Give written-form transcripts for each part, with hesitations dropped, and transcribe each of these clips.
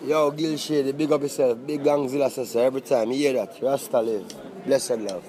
Yo, Gil Shady, big up yourself. Big Gangzilla sister. Every time you hear that, Rasta live. Blessed love.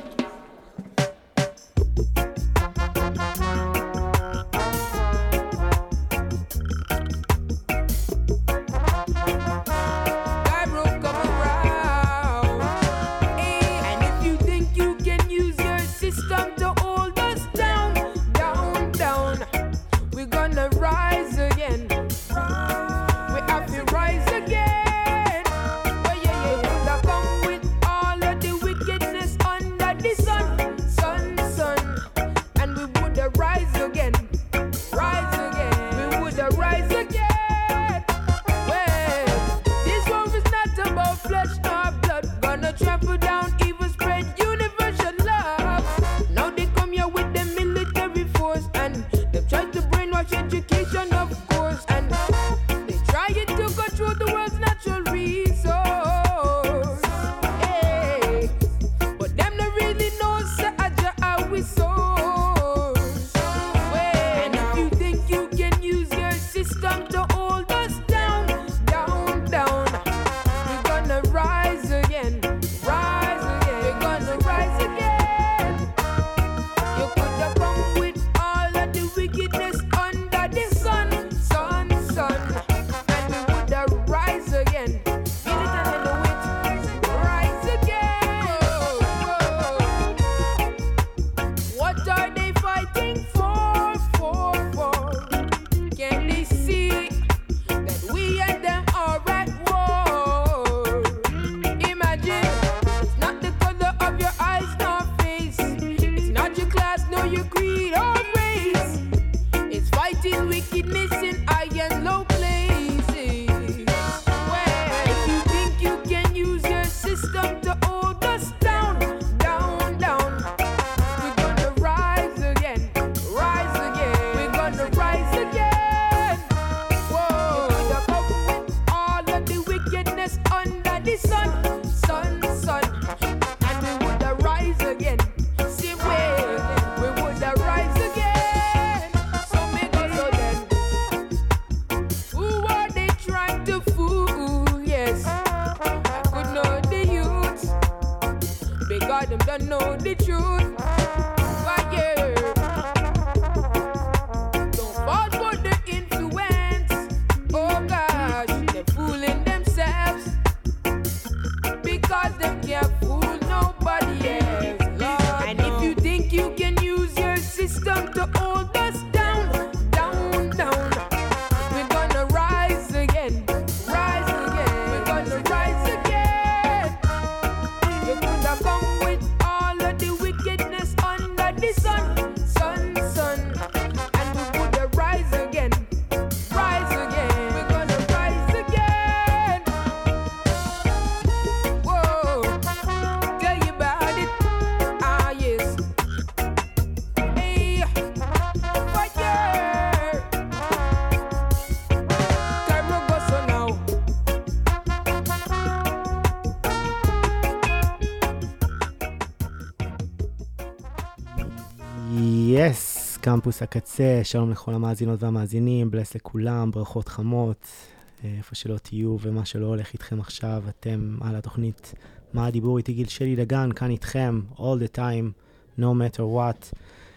קמפוס הקצה, שלום לכל המאזינות והמאזינים, בלס לכולם, ברכות חמות, איפה שלא תהיו ומה שלא הולך איתכם עכשיו, אתם על התוכנית מה הדיבור איתי גיל שלי דגן, כאן איתכם, all the time, no matter what,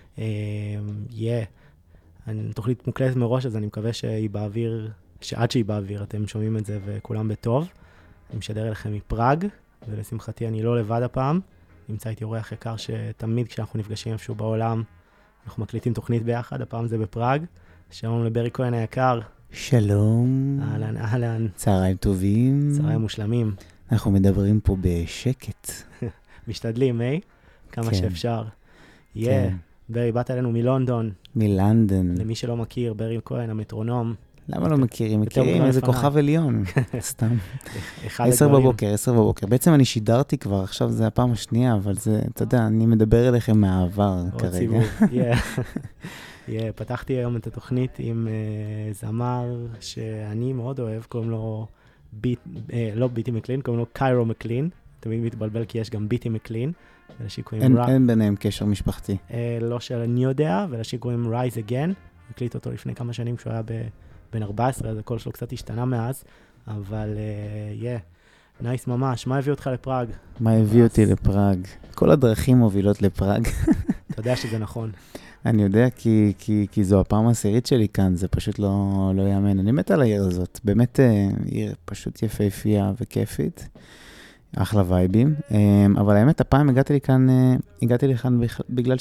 תוכנית מוקלטת מראש, אז אני מקווה שהיא באוויר, שעד שהיא באוויר אתם שומעים את זה וכולם בטוב, אני משדר אליכם מפראג, ולשמחתי אני לא לבד הפעם, נמצא איתי אורח יקר שתמיד כשאנחנו נפגשים איפשהו בעולם, אנחנו מקליטים תוכנית ביחד, הפעם זה בפראג. שלום לברי כהן היקר. שלום. אהלן, אהלן. צהריים טובים. צהריים מושלמים. אנחנו מדברים פה בשקט. משתדלים, כמה כן. שאפשר. כן. ברי, באת אלינו מלונדון. מלנדון. למי שלא מכיר, ברי כהן, המטרונום. למה לא מכירים? מכירים איזה כוכב עליון. סתם. 10 בבוקר. בעצם אני שידרתי כבר, עכשיו זה הפעם השנייה, אבל זה, אתה יודע, אני מדבר אליכם מהעבר כרגע. פתחתי היום את התוכנית עם זמר שאני מאוד אוהב, קוראים לו, לא ביטי מקלין, קוראים לו קיירו מקלין. תמיד מתבלבל כי יש גם ביטי מקלין. אין ביניהם קשר משפחתי. לא שאני יודע, ולשיר קוראים Rise Again. הקליט אותו לפני כמה שנים כשהוא היה בן 14, אז הקול שלו קצת השתנה מאז. אבל נייס ממש. מה הביא אותך לפראג? מה הביא אותי לפראג? כל הדרכים מובילות לפראג. אתה יודע שזה נכון. אני יודע כי זו הפעם העשירית שלי כאן, זה פשוט לא יאמן. אני מת על העיר הזאת, באמת עיר פשוט יפהפייה וכיפית, אחלה וייבים. אבל האמת, הפעם הגעתי לכאן בגלל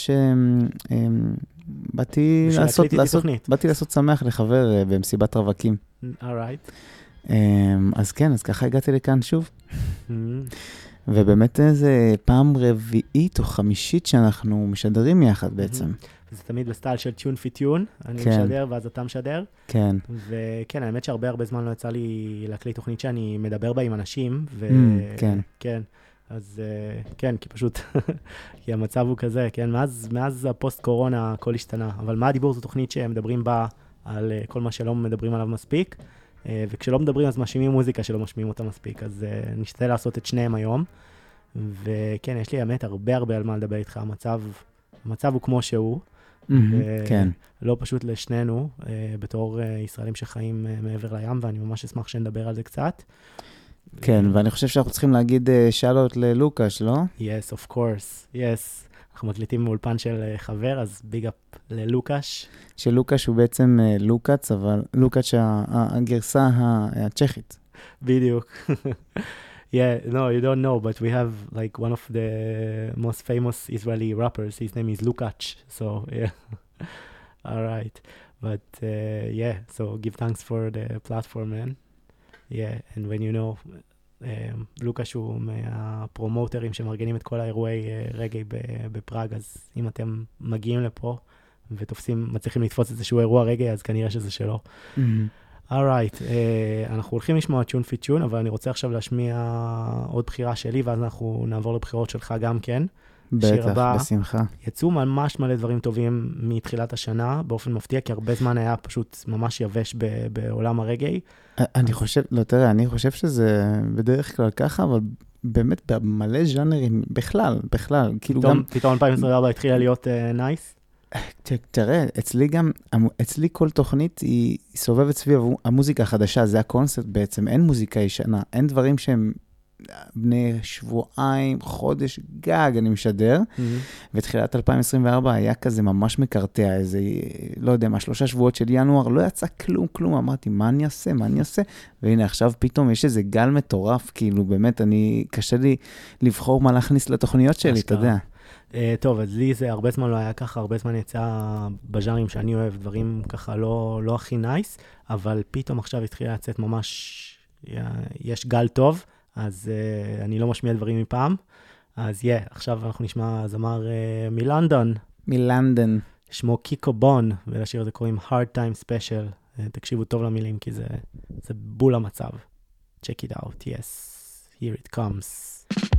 באתי לעשות שמח לחבר במסיבת רווקים. Alright. אז כן, אז ככה הגעתי לכאן שוב. ובאמת זה פעם רביעית או חמישית שאנחנו משדרים יחד בעצם. זה תמיד בסטייל של טיון פי טיון, אני משדר ואז אתה משדר. כן. וכן, האמת שהרבה זמן לא יצא לי להקליט תוכנית שאני מדבר בה עם אנשים. כן. כן. אז כן, כי פשוט, כי המצב הוא כזה, כן, מאז הפוסט קורונה הכל השתנה. אבל מה הדיבור? זו תוכנית שמדברים בה על כל מה שלא מדברים עליו מספיק. וכשלא מדברים אז משמיעים מוזיקה שלא משמיעים אותה מספיק, אז נשתדל לעשות את שניהם היום. וכן, יש לי האמת הרבה על מה לדבר איתך, המצב הוא כמו שהוא. כן. לא פשוט לשנינו, בתור ישראלים שחיים מעבר לים, ואני ממש אשמח שנדבר על זה קצת. כן, ואני חושב שאנחנו צריכים להגיד שאלות ללוקש, לא? Yes, of course, yes. אנחנו מקליטים מאולפן של חבר, אז ביג אפ ללוקש. שלוקש הוא בעצם לוקץ, אבל לוקש הגרסה הצ'כית. בדיוק. Yeah, no, you don't know, but we have like one of the most famous Israeli rappers. His name is Lukacs. So, yeah. All right. But, yeah, so give thanks for the platform, man. Yeah, and when you know, לוקאץ' הוא מהפרומוטרים שמארגנים את כל האירועי רגעי בפראג, אז אם אתם מגיעים לפה מצליחים לתפוס איזשהו אירוע רגעי, אז כנראה שזה שלו. Alright, אנחנו הולכים לשמוע טיון פי טיון, אבל אני רוצה עכשיו להשמיע עוד בחירה שלי, ואז אנחנו נעבור לבחירות שלך גם כן. בטח, בשמחה. יצאו ממש מלא דברים טובים מתחילת השנה, באופן מפתיע, כי הרבה זמן היה פשוט ממש יבש בעולם הרגעי. אני חושב, לא תראה, אני חושב שזה בדרך כלל ככה, אבל באמת במלא ז'אנרים, בכלל, כאילו גם... פתאום 2024 התחילה להיות נייס? תראה, אצלי כל תוכנית היא סובבת סביב המוזיקה החדשה, זה הקונספט בעצם, אין מוזיקה ישנה, אין דברים שהם בני שבועיים, חודש גג אני משדר, ותחילת 2024 היה כזה ממש מקרטע, איזה, לא יודע מה, 3 שבועות של ינואר, לא יצא כלום, אמרתי, מה אני אעשה? והנה עכשיו פתאום יש איזה גל מטורף, כאילו באמת, קשה לי לבחור מה להכניס לתוכניות שלי, אתה יודע. טוב, אז לי זה הרבה זמן לא היה ככה, הרבה זמן יצא בז'אנרים שאני אוהב, דברים ככה לא הכי נייס, אבל פתאום עכשיו התחילה לצאת ממש, יש גל טוב, אז אני לא משמיע דברים מפעם, אז עכשיו אנחנו נשמע זמר מלונדון. שמו קיקו בון, ולשיר הזה קוראים Hard Time Special. תקשיבו טוב למילים, כי זה בול המצב. Check it out, yes, here it comes.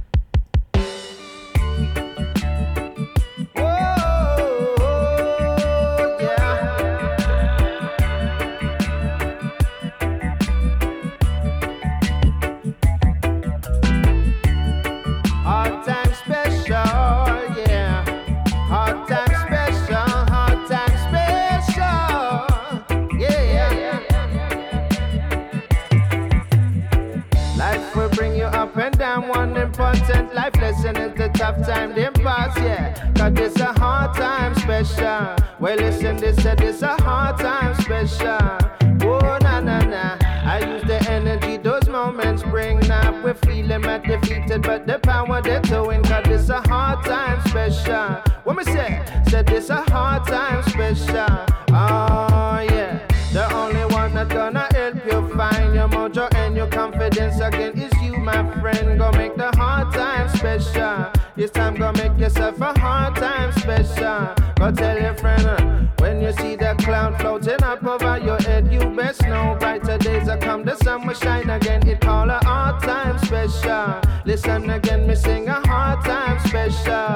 Life lesson is the tough time they pass, yeah. Cause this a hard time special. Well, listen, this a hard time special. Oh, na. I use the energy those moments bring. Now we're feeling not defeated, but the power they're towing. Cause this a hard time special. What me say? Said this a hard time special. Oh, yeah. The only one that's gonna help you find your mojo and your confidence again is you, my friend. Go make the hard time special. This time go make yourself a hard time special. Go tell your friend, when you see the cloud floating up over your head, you best know brighter days are come, the sun will shine again. It call a hard time special. Listen again, me sing a hard time special.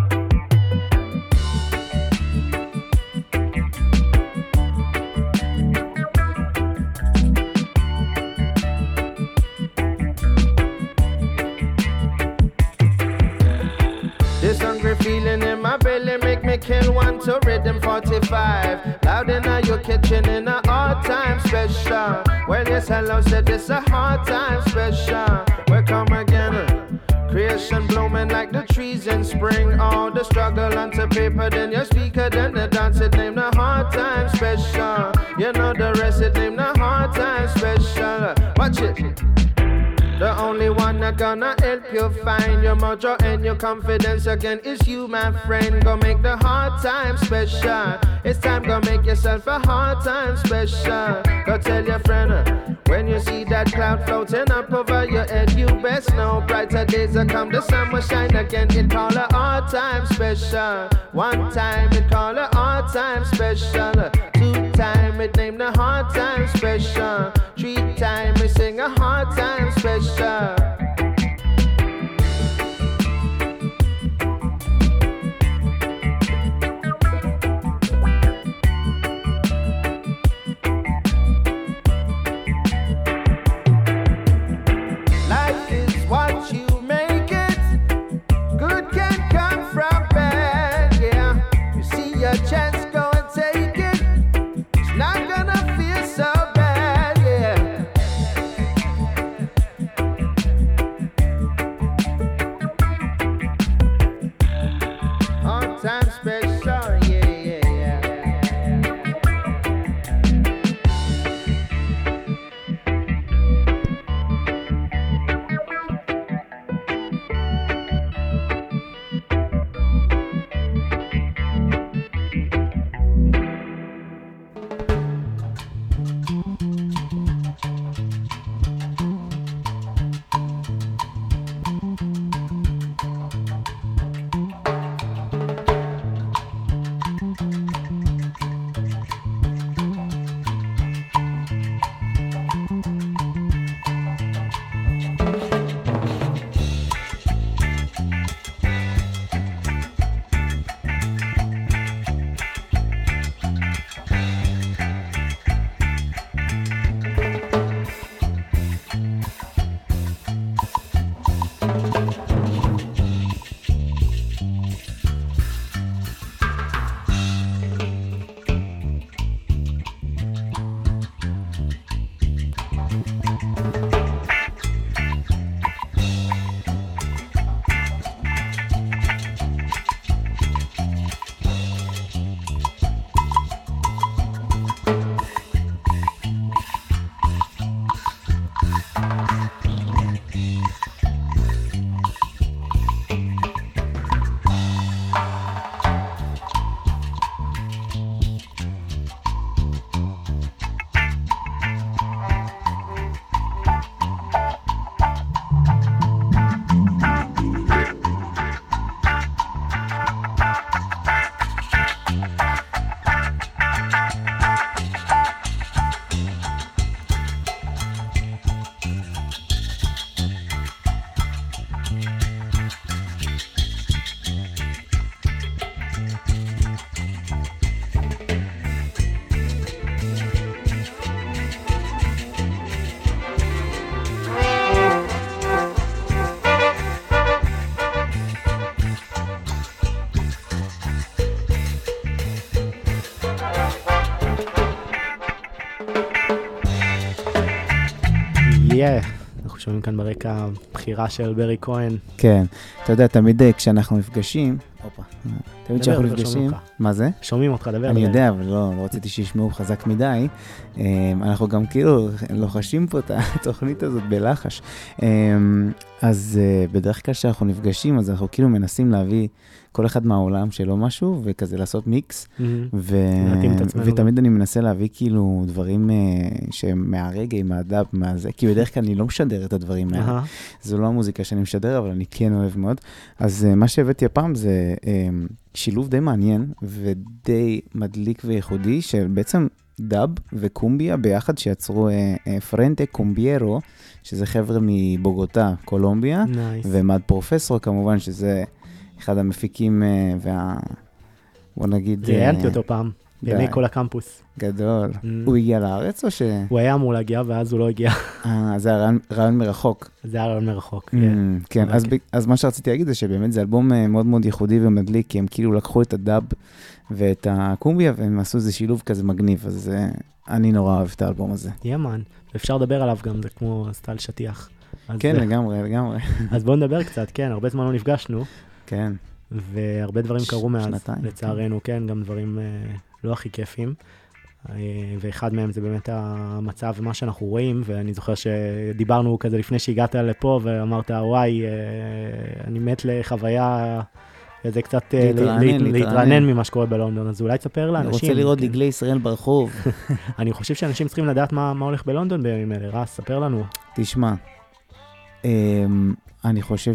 This hungry feeling in my belly make me kill one to rhythm 45. Loud in your kitchen in a hard time special. Well, yes, hello, said this a hard time special. Welcome again. Creation blooming like the trees in spring. All the struggle onto paper, then your speaker, then the dance, it named the hard time special. You know the rest, it named the hard time special. Watch it. The only one that gonna help you find your mojo and your confidence again is you, my friend. Go make the hard time special. It's time, go make yourself a hard time special. Go tell your friend, when you see that cloud floating up over your head, you best know brighter days will come, the sun will shine again. It call a hard time special. One time it call a hard time special. 2 time it named the hard time special. 3 time we sing a hard time special. Life is what you make it. Good can come from bad, yeah. You see your chance, go and take it. It's not gonna feel so bad, yeah. On time special, yeah, yeah, yeah. אנחנו שומעים כאן ברקע בחירה של ברי כהן. כן, אתה יודע, תמיד כשאנחנו נפגשים, תמיד כשאנחנו נפגשים, מה זה? שומעים אותך, דבר. אני יודע, אבל לא רציתי שישמעו חזק מדי. אנחנו גם כאילו לוחשים פה את התוכנית הזאת בלחש. אז בדרך כלל כשאנחנו נפגשים, אז אנחנו כאילו מנסים להביא כל אחד מהעולם שלו משהו, וכזה לעשות מיקס, ותמיד אני מנסה להביא כאילו דברים שהם מהרגע, מהדאב, מהזה, כי בדרך כלל אני לא משדר את הדברים האלה. זו לא המוזיקה שאני משדר, אבל אני כן אוהב מאוד. אז מה שהבאתי הפעם זה שילוב די מעניין, ודי מדליק וייחודי, של בעצם דאב וקומביה ביחד, שיצרו פרנטה קומביירו, שזה חבר'ה מבוגוטה, קולומביה, ומד פרופסור כמובן, שזה אחד המפיקים בוא נגיד... ראיינתי אותו פעם, בימי כל הקמפוס. גדול. הוא הגיע לארץ או ש... הוא היה אמור להגיע, ואז הוא לא הגיע. זה היה רעיון מרחוק. זה היה רעיון מרחוק, כן. אז מה שרציתי להגיד זה שבאמת זה אלבום מאוד מאוד ייחודי ומדליק, כי הם כאילו לקחו את הדאב ואת הקומביה, והם עשו איזה שילוב כזה מגניב, אז אני נורא אוהב את האלבום הזה. יאמן. אפשר לדבר עליו גם, זה כמו סטייל שטיח. כן, לגמרי, לגמרי. אז בואו נדבר קצת, כן, הרבה זמן לא נפגשנו. כן. והרבה דברים קרו מאז, שנתיים, לצערנו, כן, גם דברים לא הכי כיפים. ואחד מהם זה באמת המצב ומה שאנחנו רואים, ואני זוכר שדיברנו כזה לפני שהגעת לפה, ואמרת, וואי, אני מת לחוויה, זה קצת להתרענן ממה שקורה בלונדון, אז אולי תספר לאנשים. אני רוצה לראות דגלי ישראל ברחוב. אני חושב שאנשים צריכים לדעת מה הולך בלונדון בימים אלה. רס, ספר לנו. תשמע, אני חושב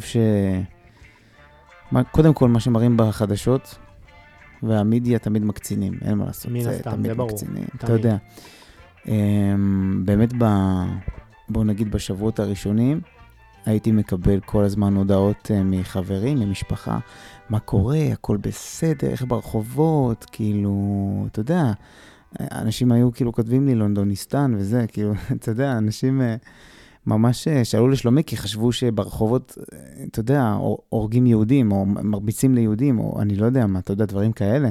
קודם כל מה שמראים בחדשות, והמידיה תמיד מקצינים, אין מה לעשות. מן הסתם, זה ברור. אתה יודע. באמת, בוא נגיד בשבועות הראשונים, הייתי מקבל כל הזמן הודעות מחברים, ממשפחה, מה קורה, הכל בסדר, איך ברחובות, כאילו, אתה יודע, אנשים היו כאילו כותבים לי לונדוניסטן וזה, כאילו, אתה יודע, אנשים ממש שאלו לשלומי, כי חשבו שברחובות, אתה יודע, הורגים יהודים, או מרביצים ליהודים, או אני לא יודע מה, אתה יודע, דברים כאלה.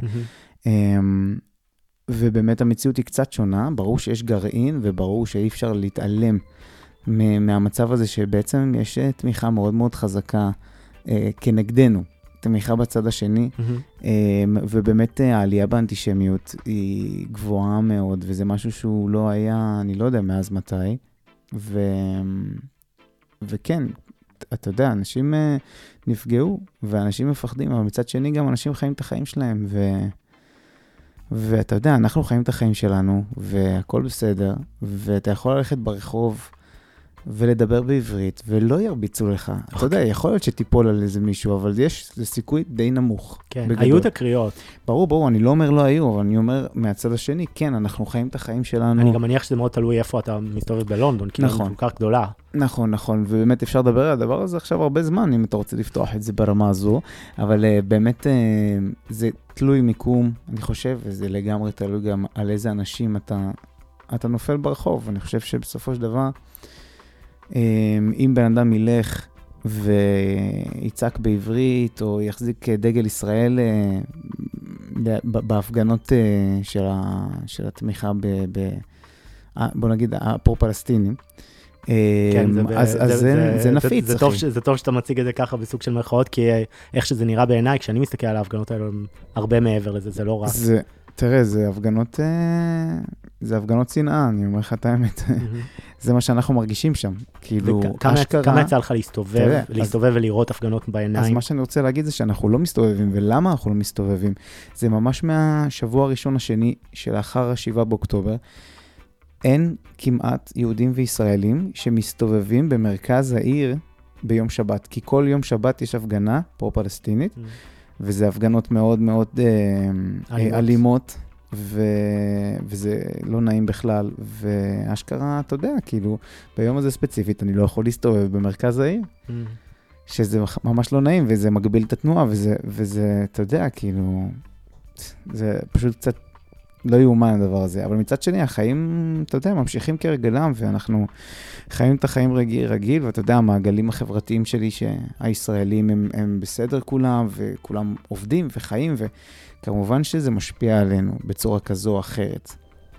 ובאמת המציאות היא קצת שונה, ברור שיש גרעין, וברור שאי אפשר להתעלם מהמצב הזה, שבעצם יש תמיכה מאוד מאוד חזקה כנגדנו, תמיכה בצד השני, ובאמת העלייה באנטישמיות היא גבוהה מאוד, וזה משהו שהוא לא היה, אני לא יודע מאז מתי, וכן, אתה יודע, אנשים נפגעו, ואנשים מפחדים, אבל מצד שני גם אנשים חיים את החיים שלהם, ואתה יודע, אנחנו חיים את החיים שלנו, והכל בסדר, ואתה יכול ללכת ברחוב, ולדבר בעברית, ולא ירביצו לך. אתה יודע, יכול להיות שתיפול על איזה מישהו, אבל יש סיכוי די נמוך. כן, היו את הקריאות. ברור, אני לא אומר לא היו, אבל אני אומר מהצד השני, כן, אנחנו חיים את החיים שלנו. אני גם מניח שזה מאוד תלוי איפה אתה מסתובב בלונדון, כי היא כל כך גדולה. נכון, ובאמת אפשר לדבר על הדבר הזה עכשיו הרבה זמן, אם אתה רוצה לפתוח את זה ברמה הזו, אבל באמת זה תלוי מיקום, אני חושב, וזה לגמרי תלוי גם על איזה אנשים אתה נופל ברחוב. אני חושב שבסופו של דבר, אם בן אדם ילך ויצעק בעברית, או יחזיק דגל ישראל בהפגנות של התמיכה בוא נגיד, הפרו-פלסטינים, אז זה נפיץ. זה טוב שאתה מציג את זה ככה בסוג של מרכאות, כי איך שזה נראה בעיניי, כשאני מסתכל על ההפגנות האלו, הרבה מעבר לזה, זה לא רק. תראה, זה הפגנות שנאה, אני אומר לך את האמת. זה מה שאנחנו מרגישים שם. כאילו, כמה יצא לך להסתובב ולראות הפגנות בעיניים? אז מה שאני רוצה להגיד זה שאנחנו לא מסתובבים, ולמה אנחנו לא מסתובבים? זה ממש מהשבוע הראשון השני, שלאחר 7 באוקטובר, אין כמעט יהודים וישראלים שמסתובבים במרכז העיר ביום שבת, כי כל יום שבת יש הפגנה פרו-פלסטינית, וזה הפגנות מאוד מאוד אלימות, וזה לא נעים בכלל, ואשכרה, אתה יודע, כאילו, ביום הזה ספציפית, אני לא יכול להסתובב במרכז העיר, שזה ממש לא נעים, וזה מגביל את התנועה, וזה, אתה יודע, כאילו, זה פשוט קצת לא יאומן הדבר הזה, אבל מצד שני, החיים, אתה יודע, ממשיכים כרגלם, ואנחנו חיים את החיים רגיל, ואתה יודע, המעגלים החברתיים שלי, שהישראלים הם בסדר כולם, וכולם עובדים וחיים, וכמובן שזה משפיע עלינו בצורה כזו או אחרת.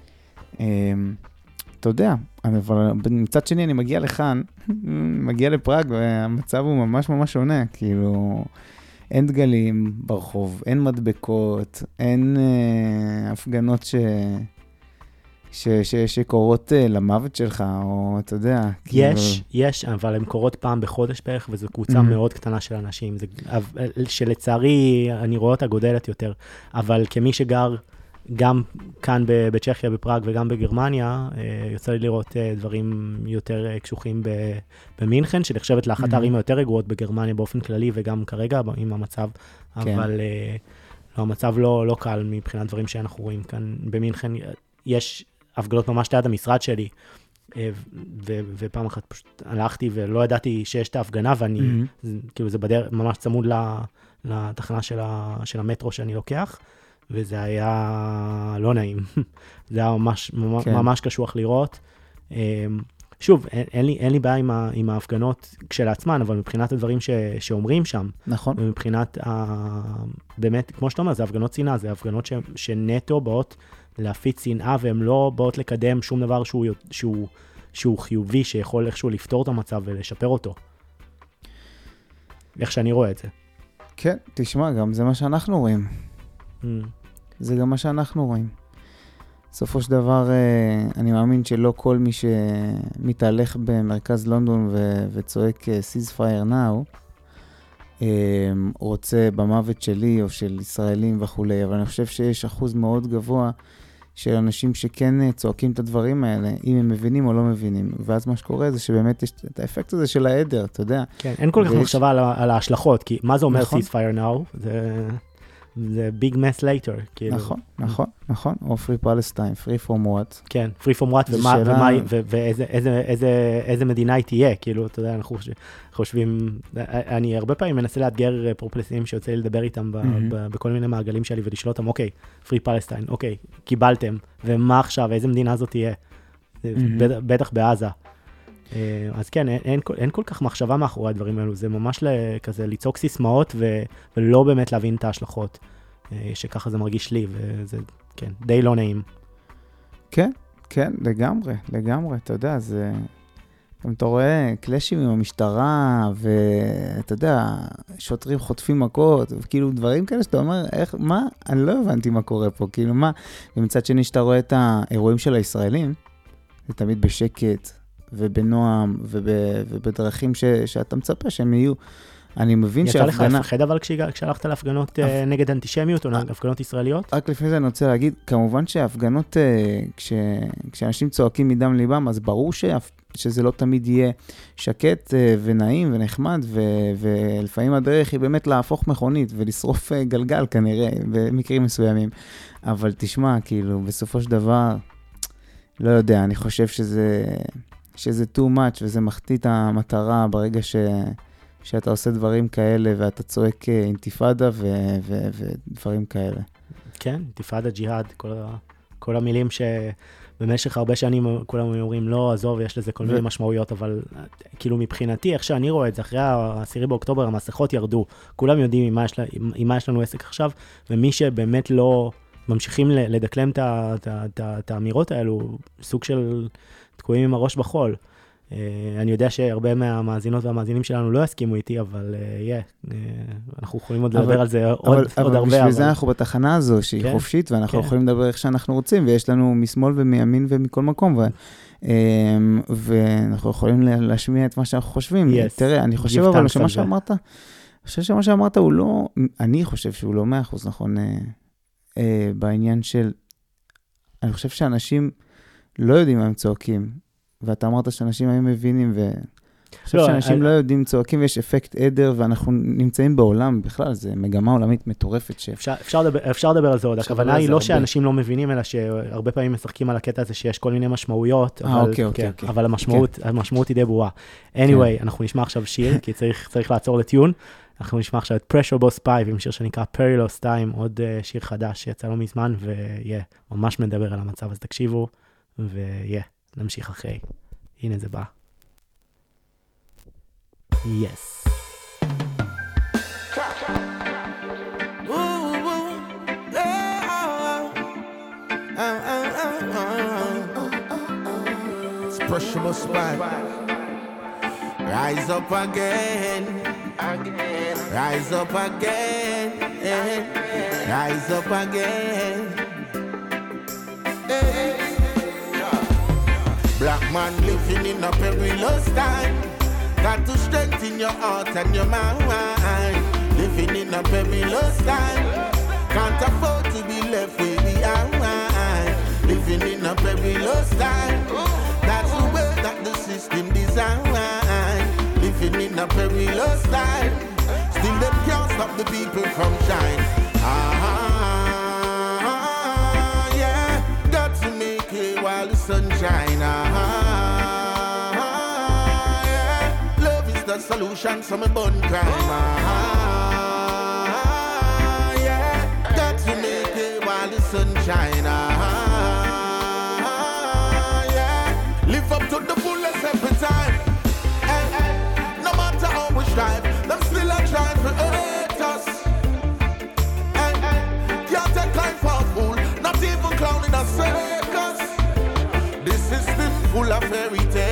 אתה יודע, אבל מצד שני אני מגיע לכאן, מגיע לפראג, והמצב הוא ממש ממש שונה, כאילו, אין דגלים ברחוב, אין מדבקות, אין הפגנות שקורות למוות שלך, או אתה יודע. יש, אבל הן קורות פעם בחודש בערך, וזו קבוצה מאוד קטנה של אנשים, שלצערי אני רואה אותה גודלת יותר, אבל כמי שגר גם כאן בצ'כיה, בפראג וגם בגרמניה, יוצא לי לראות דברים יותר קשוחים במינכן, שנחשבת לאחת הערים היותר רגועות בגרמניה באופן כללי, וגם כרגע עם המצב, אבל המצב לא קל מבחינת דברים שאנחנו רואים כאן במינכן. יש הפגנות ממש ליד המשרד שלי, ופעם אחת פשוט הלכתי ולא ידעתי שיש את ההפגנה, ואני, כאילו זה ממש צמוד לתחנה של המטרו שאני לוקח, וזה היה לא נעים. זה היה ממש קשוח לראות. שוב, אין לי בעיה עם ההפגנות כשלעצמן, אבל מבחינת הדברים שאומרים שם, נכון. ומבחינת, באמת, כמו שאתה אומר, זה הפגנות שנאה, זה הפגנות שנטו באות להפיץ שנאה, והן לא באות לקדם שום דבר שהוא חיובי, שיכול איכשהו לפתור את המצב ולשפר אותו. איך שאני רואה את זה. כן, תשמע, גם זה מה שאנחנו רואים. זה גם מה שאנחנו רואים. בסופו של דבר, אני מאמין שלא כל מי שמתהלך במרכז לונדון וצועק ceasefire now, רוצה במוות שלי או של ישראלים וכו', אבל אני חושב שיש אחוז מאוד גבוה של אנשים שכן צועקים את הדברים האלה, אם הם מבינים או לא מבינים. ואז מה שקורה זה שבאמת יש את האפקט הזה של העדר, אתה יודע. כן, אין כל כך מחשבה על ההשלכות, כי מה זה אומר ceasefire now? זה big mess later, כאילו. נכון, או free Palestine, free from what. כן, free from what, ואיזה מדינה היא תהיה, כאילו, אתה יודע, אנחנו חושבים, אני הרבה פעמים מנסה לאתגר פרופלסטינים שיוצא לי לדבר איתם בכל מיני מעגלים שלי, ולשאול אותם, אוקיי, free Palestine, אוקיי, קיבלתם, ומה עכשיו, איזה מדינה זאת תהיה? בטח בעזה. אז כן, אין כל כך מחשבה מאחורי הדברים האלו, זה ממש כזה ליצוק סיסמאות ולא באמת להבין את ההשלכות, שככה זה מרגיש לי, וזה, כן, די לא נעים. כן, לגמרי, אתה יודע, זה, גם אתה רואה קלאשים עם המשטרה, ואתה יודע, שוטרים חוטפים מכות, וכאילו דברים כאלה שאתה אומר, מה? אני לא הבנתי מה קורה פה, כאילו מה? ומצד שני שאתה רואה את האירועים של הישראלים, זה תמיד בשקט, ובנועם, ובדרכים שאתה מצפה שהם יהיו. אני מבין שההפגנה... יצא לך לפחד אבל כשהלכת להפגנות נגד אנטישמיות, או הפגנות ישראליות? רק לפני זה אני רוצה להגיד, כמובן שההפגנות, כשאנשים צועקים מדם ליבם, אז ברור שזה לא תמיד יהיה שקט ונעים ונחמד, ולפעמים הדרך היא באמת להפוך מכונית, ולשרוף גלגל כנראה, במקרים מסוימים. אבל תשמע, כאילו, בסופו של דבר, לא יודע, אני חושב שזה too much, וזה מחטיא את המטרה ברגע שאתה עושה דברים כאלה, ואתה צועק אינתיפאדה ודברים כאלה. כן, אינתיפאדה, ג'יהאד, כל המילים שבמשך הרבה שנים כולם אומרים, לא, עזוב, יש לזה כל מיני משמעויות, אבל כאילו מבחינתי, איך שאני רואה את זה, אחרי ה10 באוקטובר, המסכות ירדו, כולם יודעים עם מה יש לנו עסק עכשיו, ומי שבאמת לא ממשיכים לדקלם את האמירות האלו, סוג של תקועים עם הראש בחול. אני יודע שהרבה מהמאזינות והמאזינים שלנו לא יסכימו איתי, אבל אנחנו יכולים עוד לדבר על זה עוד הרבה. אבל בשביל זה אנחנו בתחנה הזו, שהיא חופשית, ואנחנו יכולים לדבר איך שאנחנו רוצים, ויש לנו משמאל ומימין ומכל מקום, ואנחנו יכולים להשמיע את מה שאנחנו חושבים. תראה, אני חושב אבל שמה שאמרת הוא לא, אני חושב שהוא לא 100% נכון, בעניין של, אני חושב שאנשים לא יודעים מה הם צועקים, ואתה אמרת שאנשים היו מבינים, ואני חושב שאנשים לא יודעים צועקים, ויש אפקט עדר, ואנחנו נמצאים בעולם בכלל, זה מגמה עולמית מטורפת. אפשר לדבר על זה עוד, הכוונה היא לא שאנשים לא מבינים, אלא שהרבה פעמים משחקים על הקטע הזה שיש כל מיני משמעויות, אבל המשמעות היא די ברורה. anyway, אנחנו נשמע עכשיו שיר, כי צריך לעצור לטיון, אנחנו נשמע עכשיו את Pressure Boss Pipe, עם שיר שנקרא Perilous Time, עוד שיר חדש שיצא לא מזמן, ממש מדבר על המצב, אז תקשיבו, נמשיך אחרי. הנה זה בא. Yes. It's Pressure Boss Pipe. Rise up again. Rise up again. Rise up again. Black man living in a perilous time. Got to strengthen your heart and your mind. Living in a perilous time. Can't afford to be left way behind. Living in a perilous time. That's the way that the system designed. Living in a perilous time. Still them can't stop the people from shine. Yeah. Got to make it while the sun shine. Yeah. Love is the solution, so me burn crime. Yeah. Got to make it while the sun shine. Yeah. Live up to the fullest every time. No matter how we strive, them still a trying to hurt us. Can't take life for a fool, not even clown in a circus. This system full of fairy tales.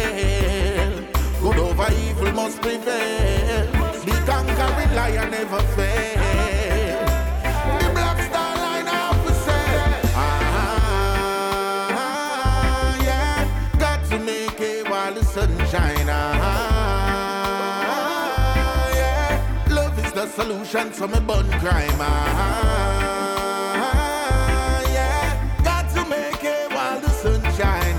must prevail. The conquering lion never fail. The black star line up to say, yeah, got to make it while the sun shine. Yeah, love is the solution, so me burn crime. Yeah, got to make it while the sun shine.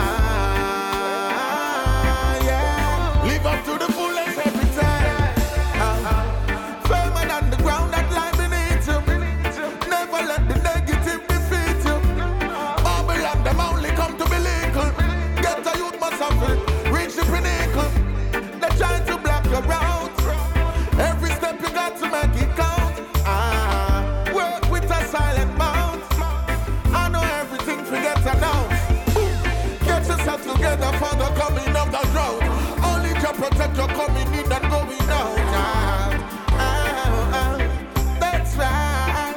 Reach the pinnacle. They're trying to block your route. Every step you got to make it count. Work with a silent mouth. I know everything forget announced. Get yourself together for the coming of the drought. Only to protect your coming in and going out. That's right.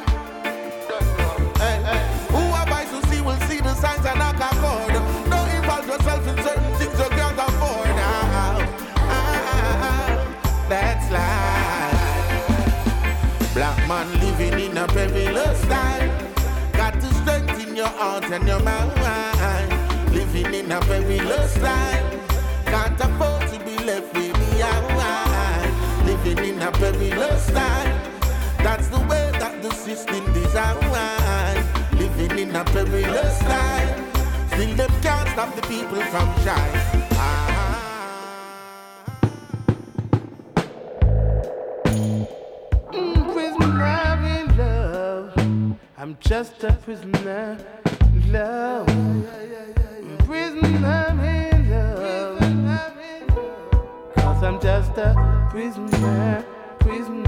Who abides to see will see the signs and knock a chord. Don't involve yourself in certain things you can't afford. That's life. Black man living in a perilous time. Got to strengthen your heart and your mind. Living in a perilous time. Can't afford to be left with behind. Living in a perilous time. That's the way that the system designed. Living in a perilous time. Still them can't stop the people from shine. Prisoner in love. I'm just a prisoner in love. Prisoner in love. Cause I'm just a prisoner in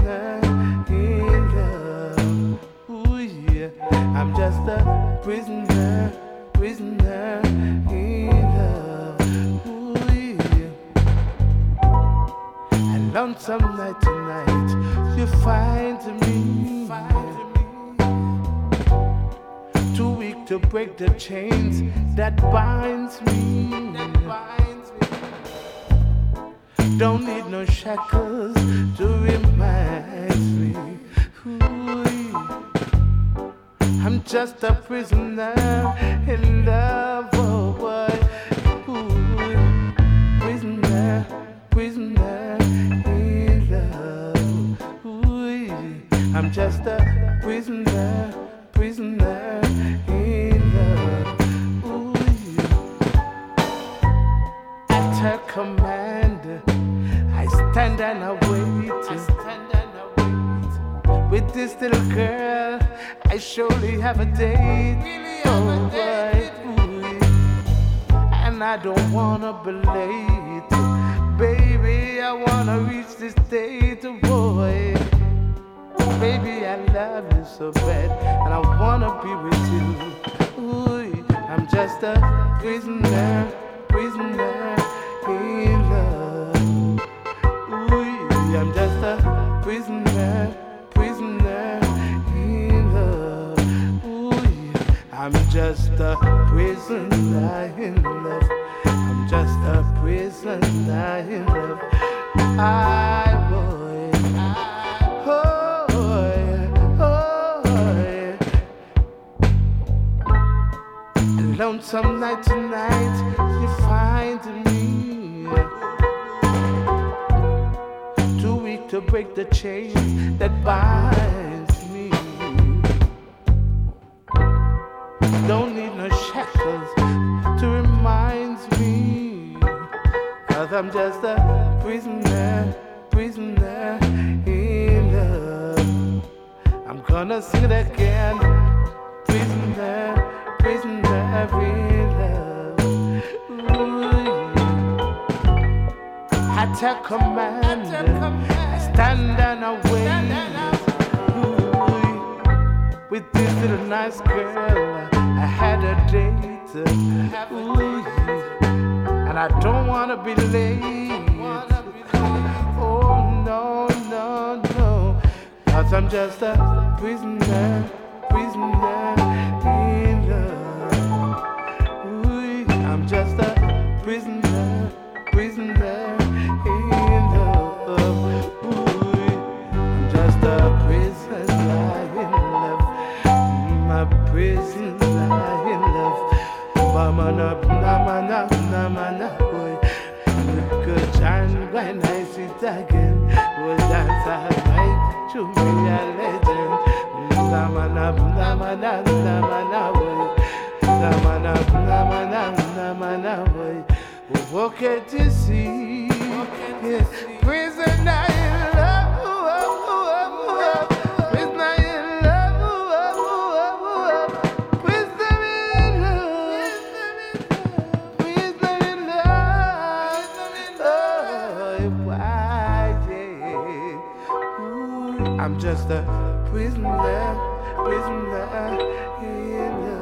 love. Ooh yeah, I'm just a prisoner in love. Ooh yeah. And lonesome night tonight, you find me. Too weak to break the chains that binds me. Don't need no shackles to remind me. Ooh, I'm just a prisoner in love, oh boy. Ooh, prisoner in love. Ooh, I'm just a prisoner in love. Ooh, at her command, I stand and I wait. With this little girl, I surely have a date. Oh boy, and I don't wanna be late. Baby, I wanna reach this date, oh boy. Baby, I love you so bad, and I wanna be with you. Ooh, I'm just a prisoner in love. Ooh, I'm just a prisoner in love. Ooh, I'm just a prisoner in love. I'm just a prisoner in love. Lonesome night tonight, you find me. Too weak to break the chain that binds me. Don't need no shackles to remind me. Cause I'm just a prisoner in love. I'm gonna sing it again. Prisoner in love. Ooh, at her command, I stand and I wait. Ooh, with this little nice girl, I had a date. Ooh, and I don't wanna be late. Oh no, cause I'm just a prisoner in love. Ooh, I'm just a prisoner in love. when I sit again. Will dance all night to be a legend. Namana, namana, namana, boy. Namana, namana, namana, boy. Okay to see, yes. Prisoner in love, prisoner in love, prisoner in love, prisoner in love. Oh, why, yeah. Ooh, I'm just a prisoner, prisoner in love.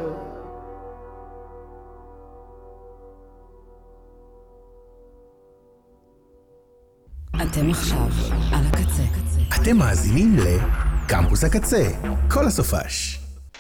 אתם עכשיו על הקצה. אתם מאזינים לקמפוס הקצה, כל הסופש.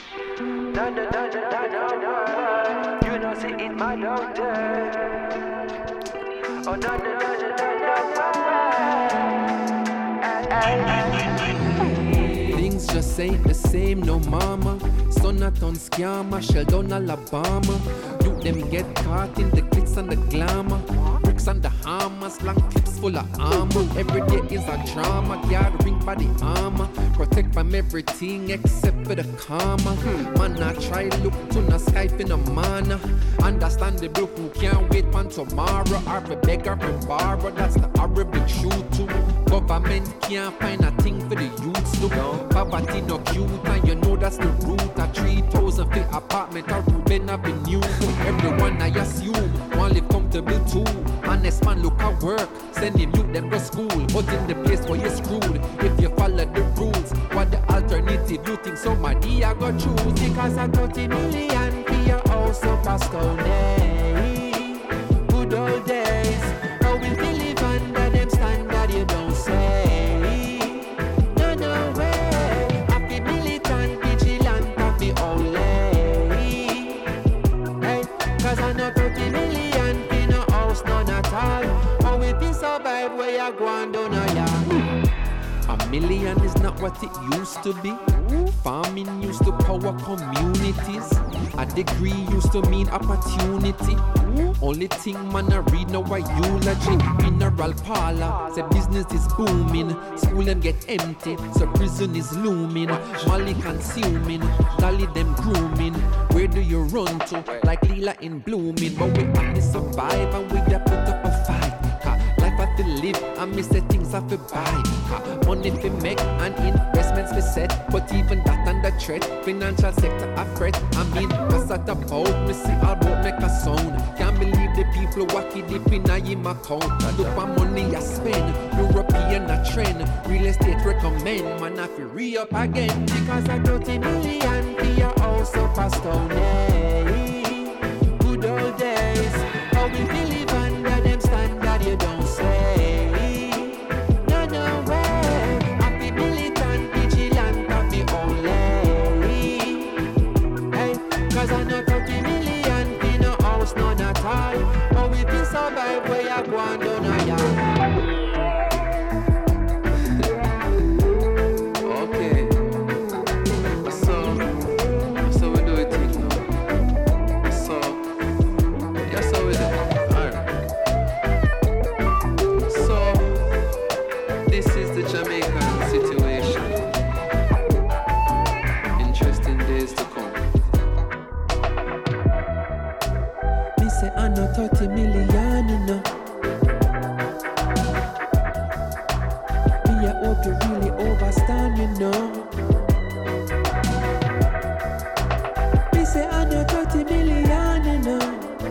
Things just ain't the same, no mama. Sonaton scammer, Sheldon Alabama. You them get caught in the glitz and the glamour. Bricks and the hammers, long clips full of armor. Every day is a drama, gathering by the armor. Protect from everything except for the karma. Man, I try look to the Skype in a manner. Understandable who can't wait for tomorrow. Or a beggar and borrow, that's the horrible truth too. Government can't find a thing for the youths to. Poverty no cute and you know that's the root. A 3,000 feet apartment or Ruben Avenue. Everyone I assume want live comfortable too. Honest man look at work, send him youth them to school. But in the place where you're screwed, if you follow the rules, what the alternative you think somebody I go choose? Because I 30 million for your house up a Stoney. Good old days, how we feel live under them standard you don't say. No way, happy militant, vigilant, happy only. Hey, cause I know 30 million for no house, none at all. How we feel survive where you go and do no yard. A million is not what it used to be. Farming used to power communities. A degree used to mean opportunity. Only thing man I read now a eulogy. Mineral parlor, say business is booming. School them get empty, so prison is looming. Molly consuming, dolly them grooming. Where do you run to? Like Lila in blooming. But we only survive and we get put up a fight. Life I feel live and me say things I feel buy. Money fi make and investments fi set. But even that under threat, financial sector a fret. I mean, cause at about me see all about make a sound. Can't believe the people wacky deep in a him account. Look for money I spend, European a trend. Real estate recommend, man I fi re-up again. Because I 30 million for your house up a Stoney. Good old days, how we feel live under them standard you don't say. No way, happy militant, vigilant, happy only. Hey, cause I know 30 million in no house, none at all. How we feel survive where you go and do no yard. Okay, so we do it thing now. So, yes, so we do it. Alright. So, this is the Jamaican situation. Interesting days to come. Me say I know 30 million, you know. Me I hope you really overstand, you know. Me say I know 30 million, you know.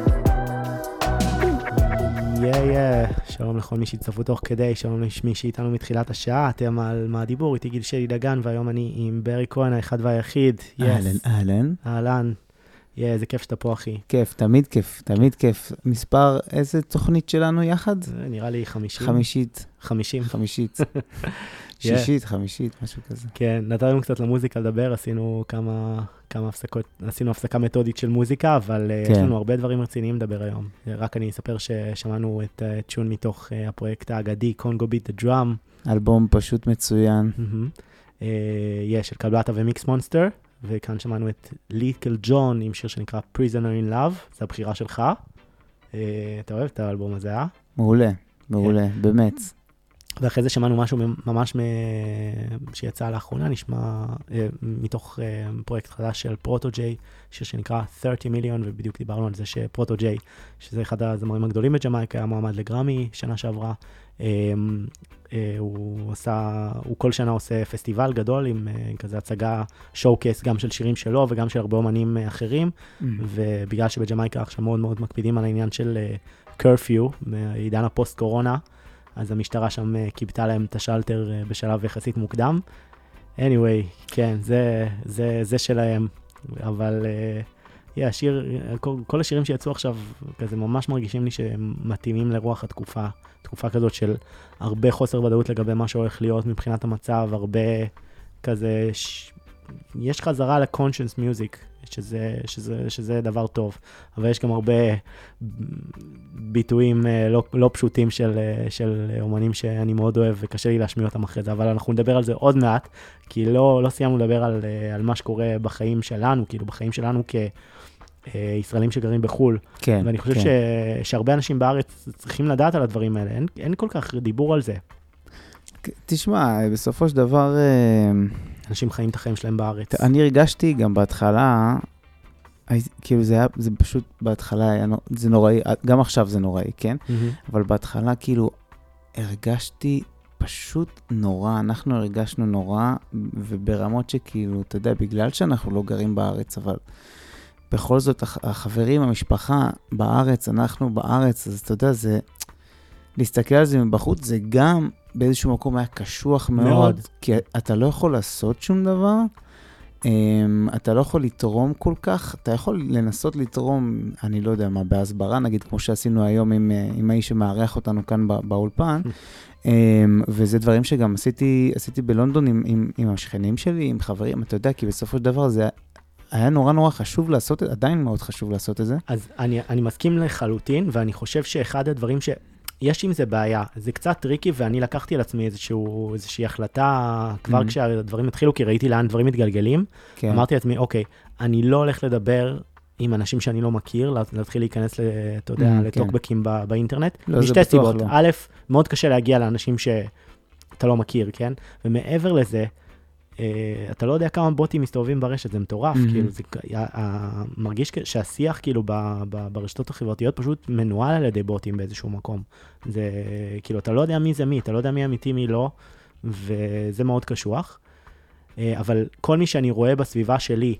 שלום לכל מי שהצטרפו תוך כדי, שלום למי שאיתנו מתחילת השעה, אתם על מה הדיבור, איתי גיל שלי דגן, והיום אני עם ברי כהן, האחד והיחיד. אהלן. איזה כיף שאתה פה, אחי. כיף, תמיד כיף, תמיד כיף. מספר, איזה תוכנית שלנו יחד? נראה לי 50. 50. שישית, חמישית, משהו כזה. כן, נתנו קצת למוזיקה לדבר, עשינו כמה הפסקות, עשינו הפסקה מתודית של מוזיקה, אבל יש לנו הרבה דברים רציניים לדבר היום. רק אני אספר ששמענו את צ'ון מתוך הפרויקט האגדי, קונגו ביט דה דראם. אלבום פשוט מצוין. יש, של קלבלטה ומיקס מונסטר, וכאן שמענו את ליטל ג'ון עם שיר שנקרא Prisoner in Love, זו הבחירה שלך. אתה אוהב את האלבום הזה, אה? מעולה. מעולה, באמת. ואחרי זה שמענו משהו ממש שיצא לאחרונה, נשמע מתוך פרויקט חדש של פרוטו-ג'יי, שיר שנקרא 30 מיליון, ובדיוק דיברנו על זה שפרוטו-ג'יי, שזה אחד הזמרים הגדולים בג'מייקה, היה מועמד לגרמי שנה שעברה. הוא כל שנה עושה פסטיבל גדול עם כזה הצגה שואו-קייס גם של שירים שלו וגם של הרבה אומנים אחרים, ובגלל שבג'מייקה עכשיו מאוד מאוד מקפידים על העניין של קרפיו, בעידן הפוסט-קורונה, אז המשטרה שם קיבתה להם את השלטר בשלב יחסית מוקדם. anyway, כן, זה שלהם, אבל השיר, כל השירים שיצאו עכשיו, כזה ממש מרגישים לי שהם מתאימים לרוח התקופה, תקופה כזאת של הרבה חוסר ודאות לגבי מה שהולך להיות מבחינת המצב, הרבה כזה, יש חזרה ל-conscious music, שזה דבר טוב, אבל יש גם הרבה ביטויים לא פשוטים של אומנים שאני מאוד אוהב וקשה לי להשמיע אותם אחרי זה, אבל אנחנו נדבר על זה עוד מעט, כי לא סיימנו לדבר על מה שקורה בחיים שלנו, כאילו בחיים שלנו כישראלים שגרים בחול, כן, ואני חושב שהרבה אנשים בארץ צריכים לדעת על הדברים האלה, אין כל כך דיבור על זה. תשמע, בסופו של דבר אנשים חיים את החיים שלהם בארץ. אני הרגשתי גם בהתחלה, כאילו זה פשוט בהתחלה, זה נוראי, גם עכשיו זה נוראי, כן? אבל בהתחלה כאילו הרגשתי פשוט נורא, אנחנו הרגשנו נורא, וברמות שכאילו, אתה יודע, בגלל שאנחנו לא גרים בארץ, אבל בכל זאת החברים, המשפחה בארץ, אנחנו בארץ, אז אתה יודע, זה, להסתכל על זה מבחוץ, זה גם באיזשהו מקום היה קשוח מאוד, כי אתה לא יכול לעשות שום דבר, אתה לא יכול לתרום כל כך, אתה יכול לנסות לתרום, אני לא יודע מה, בהסברה, נגיד כמו שעשינו היום עם האיש שמארח אותנו כאן באולפן, וזה דברים שגם עשיתי בלונדון עם השכנים שלי, עם חברים, אתה יודע, כי בסופו של דבר זה היה נורא נורא חשוב לעשות, עדיין מאוד חשוב לעשות את זה. אז אני מסכים לחלוטין, ואני חושב שאחד הדברים יש עם זה בעיה, זה קצת טריקי, ואני לקחתי על עצמי איזושהי החלטה כבר כשהדברים התחילו, כי ראיתי לאן דברים מתגלגלים, אמרתי לעצמי, אוקיי, אני לא הולך לדבר עם אנשים שאני לא מכיר, להתחיל להיכנס, אתה יודע, לטוקבקים באינטרנט, משתי סיבות. א', מאוד קשה להגיע לאנשים שאתה לא מכיר, כן? ומעבר לזה, אתה לא יודע כמה בוטים מסתובבים ברשת, זה מטורף, כאילו, זה מרגיש שהשיח, כאילו, ברשתות החברתיות פשוט מנוהל על ידי בוטים באיזשהו מקום. זה, כאילו, אתה לא יודע מי זה מי, אתה לא יודע מי אמיתי, מי לא, וזה מאוד קשוח. אבל כל מי שאני רואה בסביבה שלי,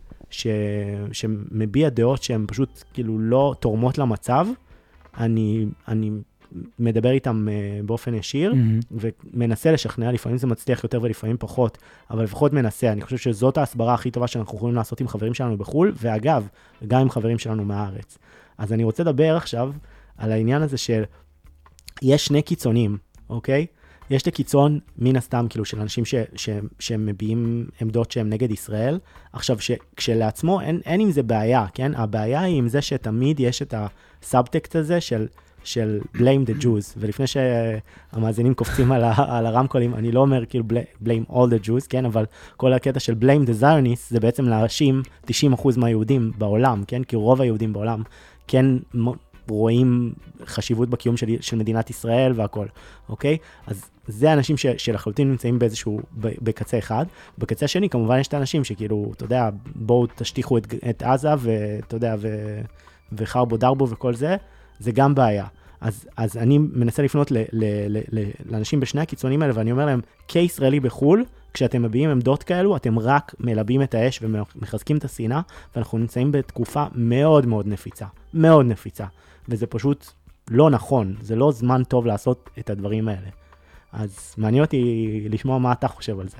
שמביע דעות שהן פשוט, כאילו, לא תורמות למצב, אני מדבר איתם באופן ישיר, ומנסה לשכנע, לפעמים זה מצליח יותר ולפעמים פחות, אבל לפחות מנסה. אני חושב שזאת ההסברה הכי טובה שאנחנו יכולים לעשות עם חברים שלנו בחול, ואגב, גם עם חברים שלנו מהארץ. אז אני רוצה לדבר עכשיו על העניין הזה של, יש שני קיצונים, אוקיי? יש את הקיצון מן הסתם, כאילו, של אנשים שמביעים עמדות שהם נגד ישראל. עכשיו, כשלעצמו אין עם זה בעיה, כן? הבעיה היא עם זה שתמיד יש את הסאבטקסט הזה של blame the Jews, ולפני שהמאזינים קופצים על הרמקולים, אני לא אומר כאילו blame all the Jews, כן, אבל כל הקטע של blame the Zionists, זה בעצם להאשים 90% מהיהודים בעולם, כן, כי רוב היהודים בעולם כן רואים חשיבות בקיום של מדינת ישראל והכל, אוקיי? אז זה האנשים שלחלוטין נמצאים באיזשהו, בקצה אחד. בקצה השני, כמובן יש את האנשים שכאילו, אתה יודע, בואו תשטיחו את עזה, ואתה יודע, וחרבו דרבו וכל זה, זה גם בעיה. אז אני מנסה לפנות לאנשים בשני הקיצונים האלה, ואני אומר להם, כישראלי בחול, כשאתם מביאים עמדות כאלו, אתם רק מלבים את האש ומחזקים את השנאה, ואנחנו נמצאים בתקופה מאוד מאוד נפיצה. מאוד נפיצה. וזה פשוט לא נכון. זה לא זמן טוב לעשות את הדברים האלה. אז מעניין אותי לשמוע מה אתה חושב על זה.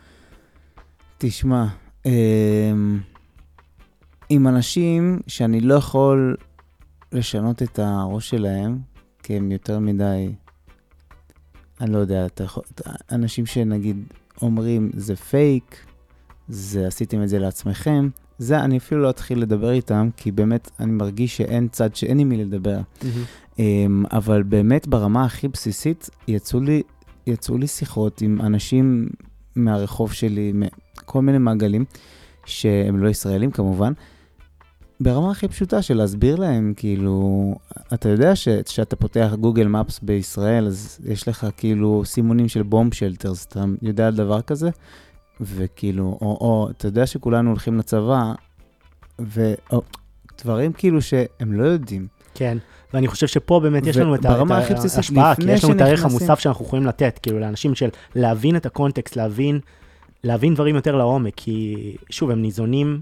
תשמע, עם אנשים שאני לא יכול לשנות את הראש שלהם, כי הם יותר מדי, אני לא יודע, אנשים שנגיד אומרים, זה פייק, עשיתם את זה לעצמכם, זה אני אפילו לא אתחיל לדבר איתם, כי באמת אני מרגיש שאין צד שאין עם מי לדבר. אבל באמת ברמה הכי בסיסית, יצאו לי שיחות עם אנשים מהרחוב שלי, כל מיני מעגלים, שהם לא ישראלים כמובן, ברמה הכי פשוטה של להסביר להם, כאילו, אתה יודע שאתה פותח גוגל מפס בישראל, אז יש לך כאילו סימונים של בום שלטרס, אתה יודע על דבר כזה? וכאילו, או אתה יודע שכולנו הולכים לצבא, דברים כאילו שהם לא יודעים. כן, ואני חושב שפה באמת יש לנו את ההשפעה, כי יש לנו את הערך המוסף שאנחנו יכולים לתת, כאילו לאנשים של להבין את הקונטקסט, להבין דברים יותר לעומק, כי שוב, הם ניזונים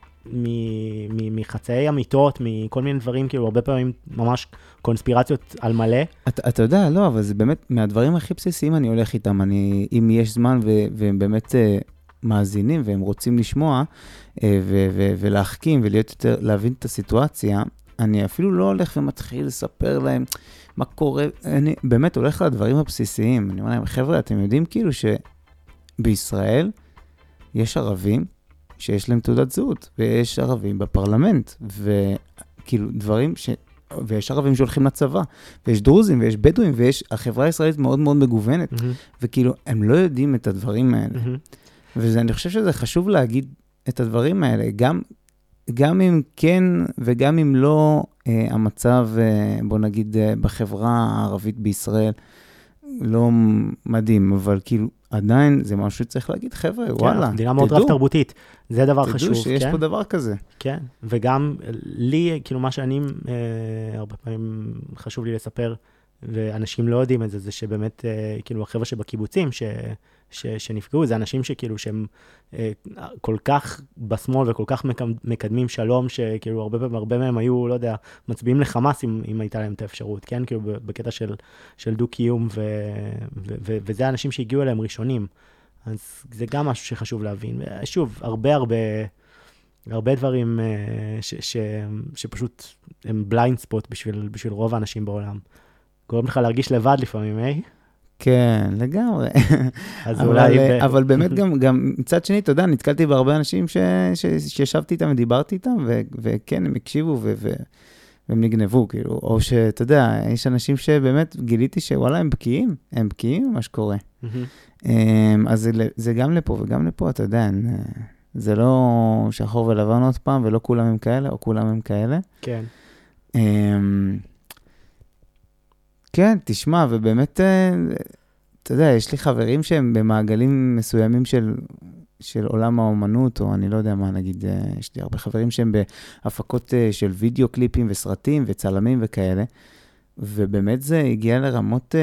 מחצאי אמיתות, מכל מיני דברים, כאילו הרבה פעמים ממש קונספירציות על מלא. אתה יודע, לא, אבל זה באמת, מהדברים הכי בסיסיים אני הולך איתם, אם יש זמן והם באמת מאזינים והם רוצים לשמוע ולהחכים ולהיות יותר, להבין את הסיטואציה, אני אפילו לא הולך ומתחיל לספר להם מה קורה, אני באמת הולך לדברים הבסיסיים, אני אומר להם, חבר'ה, אתם יודעים כאילו שבישראל יש ערבים שיש להם תעודת זהות, ויש ערבים בפרלמנט, וכאילו דברים ויש ערבים שהולכים לצבא, ויש דרוזים, ויש בדואים, החברה הישראלית מאוד מאוד מגוונת, וכאילו הם לא יודעים את הדברים האלה. ואני חושב שזה חשוב להגיד את הדברים האלה, גם אם כן וגם אם לא, המצב, בוא נגיד, בחברה הערבית בישראל, לא מדהים, אבל כאילו, עדיין זה משהו שצריך להגיד, חבר'ה, וואלה, מדינה מאוד רב תרבותית, זה דבר חשוב. תדעו שיש פה דבר כזה. כן, וגם לי, כאילו מה שאני, הרבה פעמים חשוב לי לספר, ואנשים לא יודעים את זה, זה שבאמת, כאילו החבר'ה שבקיבוצים, שנפגעו, זה אנשים שכאילו שהם כל כך בשמאל וכל כך מקדמים שלום, שכאילו הרבה מהם היו, לא יודע, מצביעים לחמאס אם הייתה להם את האפשרות, כן? כאילו בקטע של דו-קיום, וזה האנשים שהגיעו אליהם ראשונים. אז זה גם משהו שחשוב להבין. ושוב, הרבה דברים שפשוט הם בליינד ספוט בשביל רוב האנשים בעולם. גורם לך להרגיש לבד לפעמים, כן, לגמרי. אבל באמת גם מצד שני, אתה יודע, נתקלתי בהרבה אנשים שישבתי איתם ודיברתי איתם, וכן, הם הקשיבו והם נגנבו, כאילו, או שאתה יודע, יש אנשים שבאמת גיליתי שוואלה, הם בקיאים מה שקורה. אז זה גם לפה וגם לפה, אתה יודע, זה לא שחור ולבן עוד פעם, ולא כולם הם כאלה, או כולם הם כאלה. כן. כן, תשמע, ובאמת, אתה יודע, יש לי חברים שהם במעגלים מסוימים של עולם האומנות, או אני לא יודע מה, נגיד, יש לי הרבה חברים שהם בהפקות של וידאו קליפים וסרטים וצלמים וכאלה, ובאמת זה הגיע לרמות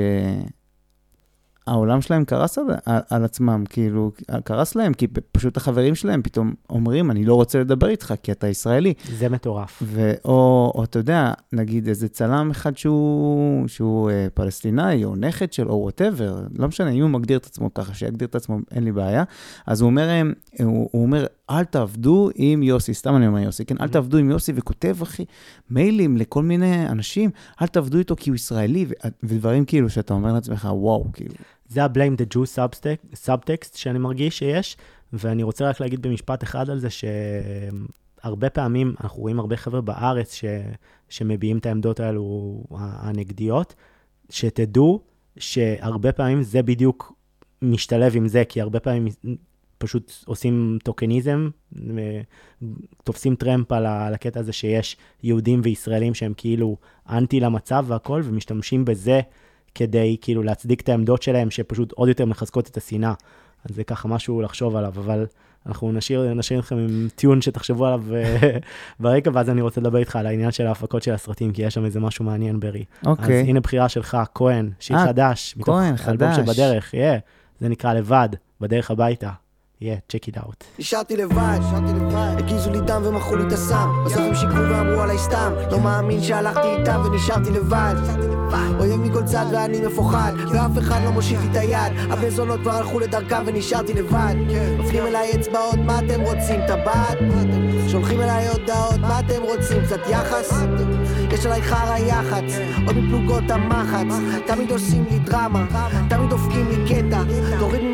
העולם שלהם קרס על עצמם, כאילו, קרס להם, כי פשוט החברים שלהם פתאום אומרים, אני לא רוצה לדבר איתך, כי אתה ישראלי. זה מטורף. או אתה יודע, נגיד איזה צלם אחד שהוא פלסטינאי, או נכד של, או whatever, לא משנה, אם הוא מגדיר את עצמו ככה, שיגדיר את עצמו, אין לי בעיה, אז הוא אומר, אל תעבדו עם יוסי, סתם אני אומר יוסי, כן, אל תעבדו עם יוסי, וכותב, אחי, מיילים לכל מיני אנשים, אל תעבדו איתו כי הוא ישראלי, ודברים כאילו שאתה אומר לעצמך, וואו, כאילו. זה ה-blame the Jew subtext שאני מרגיש שיש, ואני רוצה רק להגיד במשפט אחד על זה, שהרבה פעמים אנחנו רואים הרבה חבר'ה בארץ שמביעים את העמדות האלו הנגדיות, שתדעו שהרבה פעמים זה בדיוק משתלב עם זה, כי הרבה פעמים פשוט עושים טוקניזם, תופסים טרמפ על הקטע הזה שיש יהודים וישראלים שהם כאילו אנטי למצב והכל, ומשתמשים בזה כדי כאילו להצדיק את העמדות שלהם, שפשוט עוד יותר מחזקות את השנאה. אז זה ככה משהו לחשוב עליו, אבל אנחנו נשאיר אתכם עם טיון שתחשבו עליו ברקע, ואז אני רוצה לדבר איתך על העניין של ההפקות של הסרטים, כי יש שם איזה משהו מעניין ברי. אוקיי. אז הנה בחירה שלך, כהן, שיר חדש. כהן, חדש. שבדרך, זה נקרא לבד, בדרך הביתה. check it out. נשארתי לבד, הקיזו לי דם ומחו לי את הסם, בסוף הם שיקרו ואמרו עליי סתם, לא מאמין שהלכתי איתם ונשארתי לבד, אויב מכל צד ואני מפוחד, ואף אחד לא מושיט לי את היד, הבני זונות כבר הלכו לדרכם ונשארתי לבד, מפנים אליי אצבעות, מה אתם רוצים, טבעת? שולחים אליי הודעות, מה אתם רוצים, קצת יחס? יש עליי חרה יחץ, עוד מפלוגות המחץ, תמיד עושים לי דרמה, תמיד דופקים לי קטע, תוריד ממני את הפנים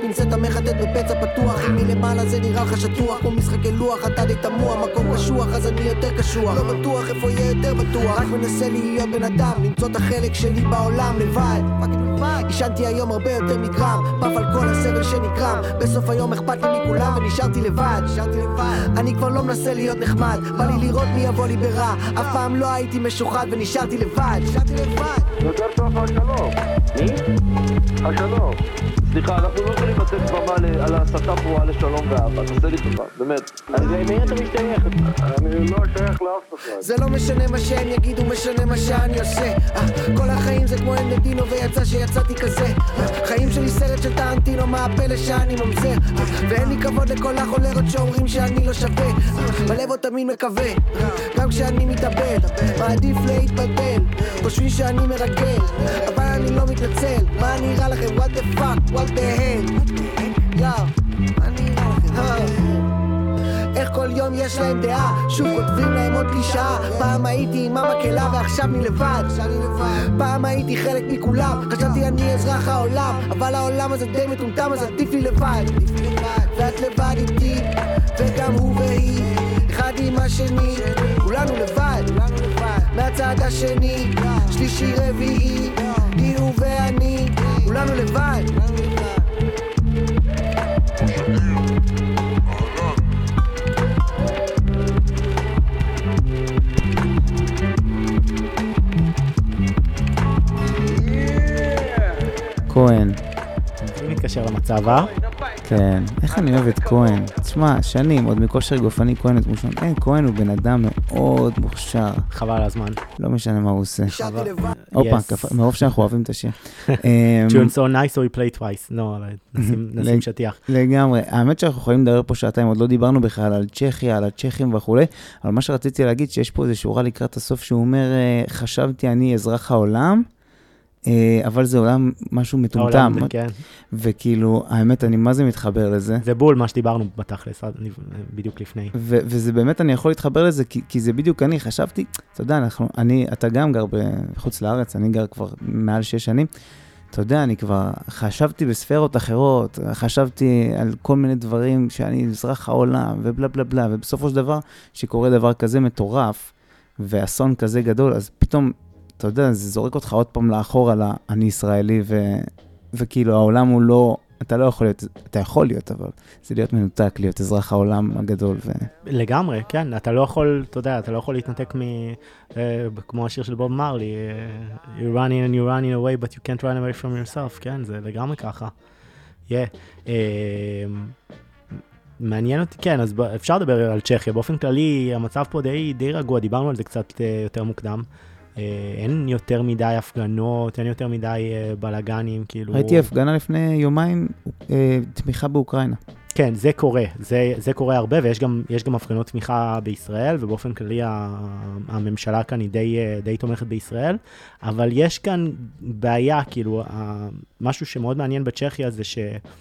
פינצטה מחטט בפצע פתוח, אם מלמעלה זה נראה לך שטוח, כמו משחקי לוח, אתה די תמוה, מקום קשוח, אז אני יותר קשוח, לא בטוח איפה יהיה יותר בטוח, רק מנסה להיות בן אדם, למצוא את החלק שלי בעולם לבד. ישנתי היום הרבה יותר מגרם, פף על כל הסבל שנקרם, בסוף היום אכפת לי מכולם ונשארתי לבד. אני כבר לא מנסה להיות נחמד, בא לי לראות מי יבוא לי ברע, אף פעם לא הייתי משוחד ונשארתי לבד. יותר טוב השלום. מי? השלום. סליחה, אנחנו לא יכולים לתת במה על הסתה פרועה לשלום ואהבה, תעשה לי טובה, באמת. אז מי אתה משתייך? אני לא שייך לאף אחד. זה לא משנה מה שהם יגידו, משנה מה שאני עושה. כל החיים זה כמו אנדינו ויצא שיצאתי כזה. חיים שלי סרט של טרנטינו, מה הפלא שאני ממזר. ואין לי כבוד לכל החולרות שאומרים שאני לא שווה. בלב עוד תמיד מקווה, גם כשאני מתאבד, מעדיף להתבלבל. חושבים שאני מרגל, אבל אני לא מתנצל. מה נראה לכם? What the fuck? What the hell? מה נראה לכם? איך כל יום יש להם דעה, שוב כותבים להם עוד קלישאה. פעם הייתי עם המקהלה ועכשיו אני לבד. פעם הייתי חלק מכולם, חשבתי אני אזרח העולם, אבל העולם הזה די מטומטם, אז עדיף לי לבד. ואת לבד איתי, וגם הוא והיא, אחד עם השני, כולנו לבד. מהצד השני, שלישי רביעי, היא הוא ואני, כולנו לבד. כהן. זה מתקשר למצב, כן, איך אני אוהב את כהן. תשמע, שנים, עוד מכושר גופני כהן את מושון. אין, כהן הוא בן אדם מאוד מוכשר. חבל על הזמן. לא משנה מה הוא עושה. אופה, מרוב שאנחנו אוהבים את השיר. Tune so nice so we play twice. לא, נשים שטיח. לגמרי. האמת שאנחנו יכולים לדבר פה שעתיים, עוד לא דיברנו בכלל על צ'כיה, על הצ'כים וכו'. אבל מה שרציתי להגיד, שיש פה איזו שורה לקראת הסוף, שהוא אומר, חשבתי אני אזרח העולם, אבל זה עולם משהו מטומטם. כן. וכאילו, האמת, אני מה זה מתחבר לזה? זה בול מה שדיברנו בתכלס, בדיוק לפני. וזה באמת, אני יכול להתחבר לזה, כי זה בדיוק אני חשבתי, אתה יודע, אתה גם גר בחוץ לארץ, אני גר כבר מעל 6 שנים, אתה יודע, אני כבר חשבתי בספרות אחרות, חשבתי על כל מיני דברים שאני אזרח העולם, ובלה בלה בלה, ובסופו של דבר, שקורה דבר כזה מטורף, ואסון כזה גדול, אז פתאום, אתה יודע, זה זורק אותך עוד פעם לאחור על אני ישראלי, וכאילו העולם הוא לא, אתה לא יכול להיות, אתה יכול להיות, אבל זה להיות מנותק, להיות אזרח העולם הגדול. לגמרי, כן, אתה לא יכול, אתה יודע, אתה לא יכול להתנתק כמו השיר של בוב מרלי, you're running and you're running away, but you can't run away from yourself, כן, זה לגמרי ככה. מעניין אותי, כן, אז אפשר לדבר על צ'כיה, באופן כללי, המצב פה די רגוע, דיברנו על זה קצת יותר מוקדם, אין יותר מדי הפגנות, אין יותר מדי בלגנים, כאילו... ראיתי הפגנה לפני יומיים, תמיכה באוקראינה. כן, זה קורה, זה קורה הרבה, ויש גם הפגנות תמיכה בישראל, ובאופן כללי הממשלה כאן היא די תומכת בישראל, אבל יש כאן בעיה, כאילו, משהו שמאוד מעניין בצ'כיה זה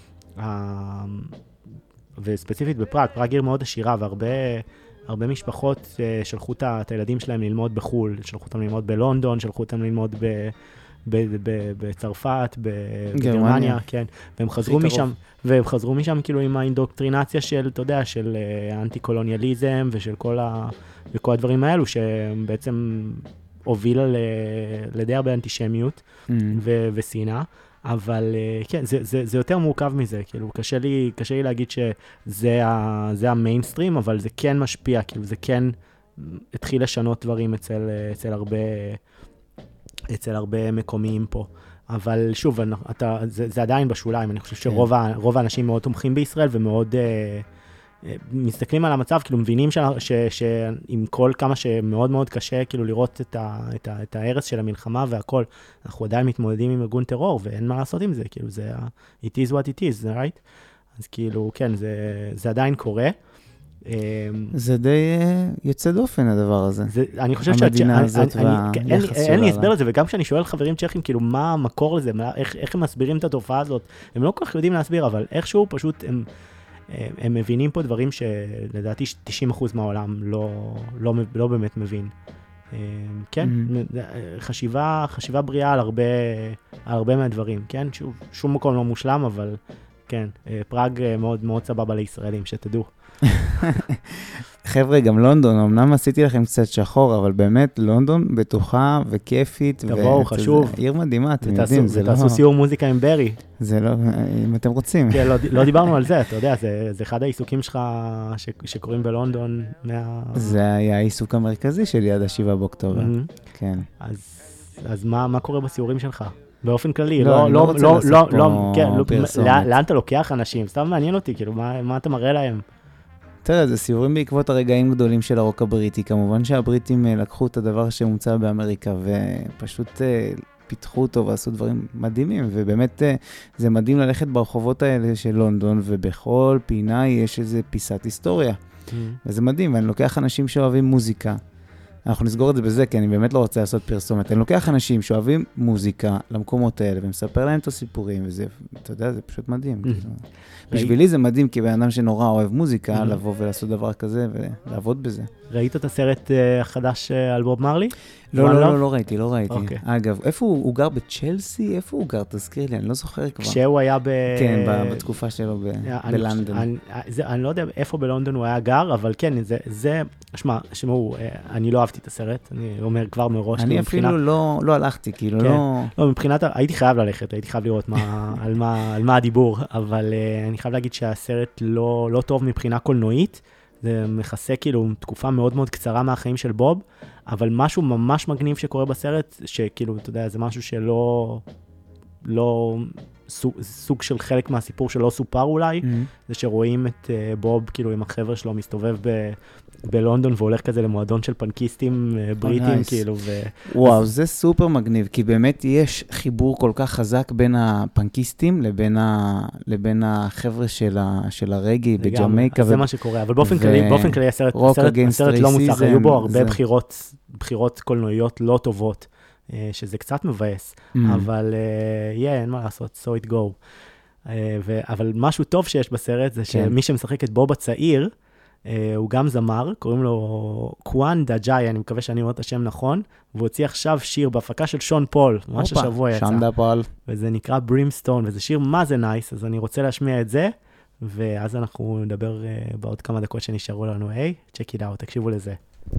וספציפית בפראג, פראג עיר מאוד עשירה, הרבה משפחות שלחו את הילדים שלהם ללמוד בחול, שלחו אותם ללמוד בלונדון, שלחו אותם ללמוד בצרפת, בגרמניה, כן. והם חזרו משם כאילו עם האינדוקטרינציה של, אתה יודע, של אנטי-קולוניאליזם ושל כל הדברים האלו, שבעצם הובילה לידי הרבה אנטישמיות ושנאה. אבל כן, זה יותר מורכב מזה, כאילו, קשה לי להגיד שזה המיינסטרים, אבל זה כן משפיע, כאילו, זה כן התחיל לשנות דברים אצל הרבה מקומיים פה. אבל שוב, זה עדיין בשוליים, אני חושב שרוב האנשים מאוד תומכים בישראל, ומאוד מסתכלים על המצב, כאילו מבינים שעם כל כמה שמאוד מאוד קשה, כאילו לראות את ההרס של המלחמה והכל, אנחנו עדיין מתמודדים עם ארגון טרור, ואין מה לעשות עם זה, כאילו זה, it is what it is, right? אז כאילו, כן, זה עדיין קורה. זה די יוצא דופן הדבר הזה. אני חושב המדינה הזאת והיחס שלה. אין לי הסבר לזה, וגם כשאני שואל חברים צ'כים, כאילו, מה המקור לזה, איך הם מסבירים את התופעה הזאת, הם לא כל כך יודעים להסביר, אבל איכשהו פשוט הם מבינים פה דברים שלדעתי 90% מהעולם לא באמת מבין. כן, חשיבה בריאה על הרבה מהדברים, כן? שום מקום לא מושלם, אבל כן. פראג מאוד מאוד סבבה לישראלים, שתדעו. חבר'ה, גם לונדון, אמנם עשיתי לכם קצת שחור, אבל באמת, לונדון בטוחה וכיפית. תבואו, חשוב. עיר מדהימה, אתם יודעים, זה לא... תעשו סיור מוזיקה עם ברי. זה לא, אם אתם רוצים. כן, לא דיברנו על זה, אתה יודע, זה אחד העיסוקים שלך שקוראים בלונדון. זה היה העיסוק המרכזי שלי עד 7 באוקטובר. כן. אז מה קורה בסיורים שלך? באופן כללי, אני לא רוצה לעשות פה פרסומת. לאן אתה לוקח אנשים? סתם מעניין אותי, כאילו, מה אתה מראה להם? תראה, זה סיורים בעקבות הרגעים גדולים של הרוק הבריטי. כמובן שהבריטים לקחו את הדבר שמומצא באמריקה, ופשוט פיתחו אותו ועשו דברים מדהימים, ובאמת זה מדהים ללכת ברחובות האלה של לונדון, ובכל פינה יש איזו פיסת היסטוריה. וזה מדהים, ואני לוקח אנשים שאוהבים מוזיקה. אנחנו נסגור את זה בזה, כי אני באמת לא רוצה לעשות פרסומת. אני לוקח אנשים שאוהבים מוזיקה למקומות האלה, ומספר להם את הסיפורים, וזה, אתה יודע, זה פשוט מדהים. בשבילי זה מדהים, כי בן אדם שנורא אוהב מוזיקה, לבוא ולעשות דבר כזה, ולעבוד בזה. ראית את הסרט החדש על בוב מרלי? לא ראיתי. אגב, איפה הוא גר בצ'לסי? איפה הוא גר? תזכיר לי, אני לא זוכר כבר. כשהוא היה כן, בתקופה שלו בלונדון. אני לא יודע איפה בלונדון הוא היה גר, אבל כן, זה... שמעו, אני לא אהבתי את הסרט, אני אומר כבר מראש. אני אפילו לא הלכתי, כאילו לא... לא, מבחינת, הייתי חייב ללכת, הייתי חייב לראות על מה הדיבור, אבל אני חייב להגיד שהסרט לא טוב מבחינה קולנועית, זה מכסה כאילו תקופה מאוד מאוד קצרה מהחיים של בוב, אבל משהו ממש מגניב שקורה בסרט, שכאילו, אתה יודע, זה משהו לא סוג של חלק מהסיפור שלא סופר אולי, זה שרואים את בוב כאילו עם החבר'ה שלו מסתובב בלונדון והולך כזה למועדון של פנקיסטים בריטים כאילו. וואו, זה סופר מגניב, כי באמת יש חיבור כל כך חזק בין הפנקיסטים לבין החבר'ה של הרגי בג'מייקה. זה מה שקורה, אבל באופן כללי הסרט לא מוצלח, היו בו הרבה בחירות קולנועיות לא טובות. שזה קצת מבאס, אבל אין מה לעשות, so it go. אבל משהו טוב שיש בסרט, זה שמי שמשחק את בוב הצעיר, הוא גם זמר, קוראים לו קואן דג'אי, אני מקווה שאני אומר את השם נכון, והוא הוציא עכשיו שיר בהפקה של שון פול, ממש השבוע יצא. שון פול. וזה נקרא ברימסטון, וזה שיר מה זה נייס, אז אני רוצה להשמיע את זה, ואז אנחנו נדבר בעוד כמה דקות שנשארו לנו, היי, check it out, תקשיבו לזה.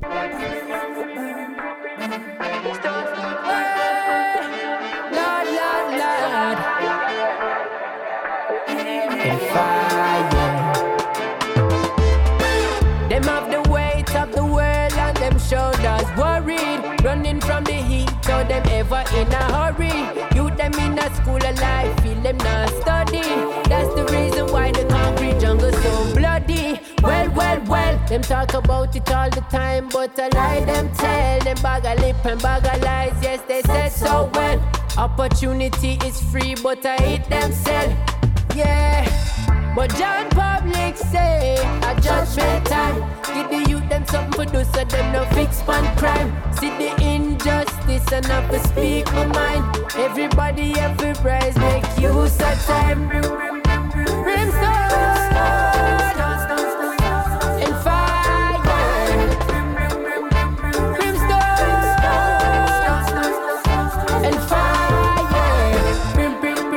Them have the weight of the world on them shoulders, worried, running from the heat, so them ever in a hurry. You them in a school of life, feel them not study. That's the reason why the concrete jungle so bloody. Well, them talk about it all the time, but I lie them tell. Them bag a lip and bag a lies, yes they said so well. Opportunity is free, but I hate them sell. Yeah, but John Public say a judgment time. Give the youth them something for do so them no fix on crime. See the injustice and have to speak my mind. Everybody every prize make use of time. Brimstone and fire. Brimstone and fire. Brim.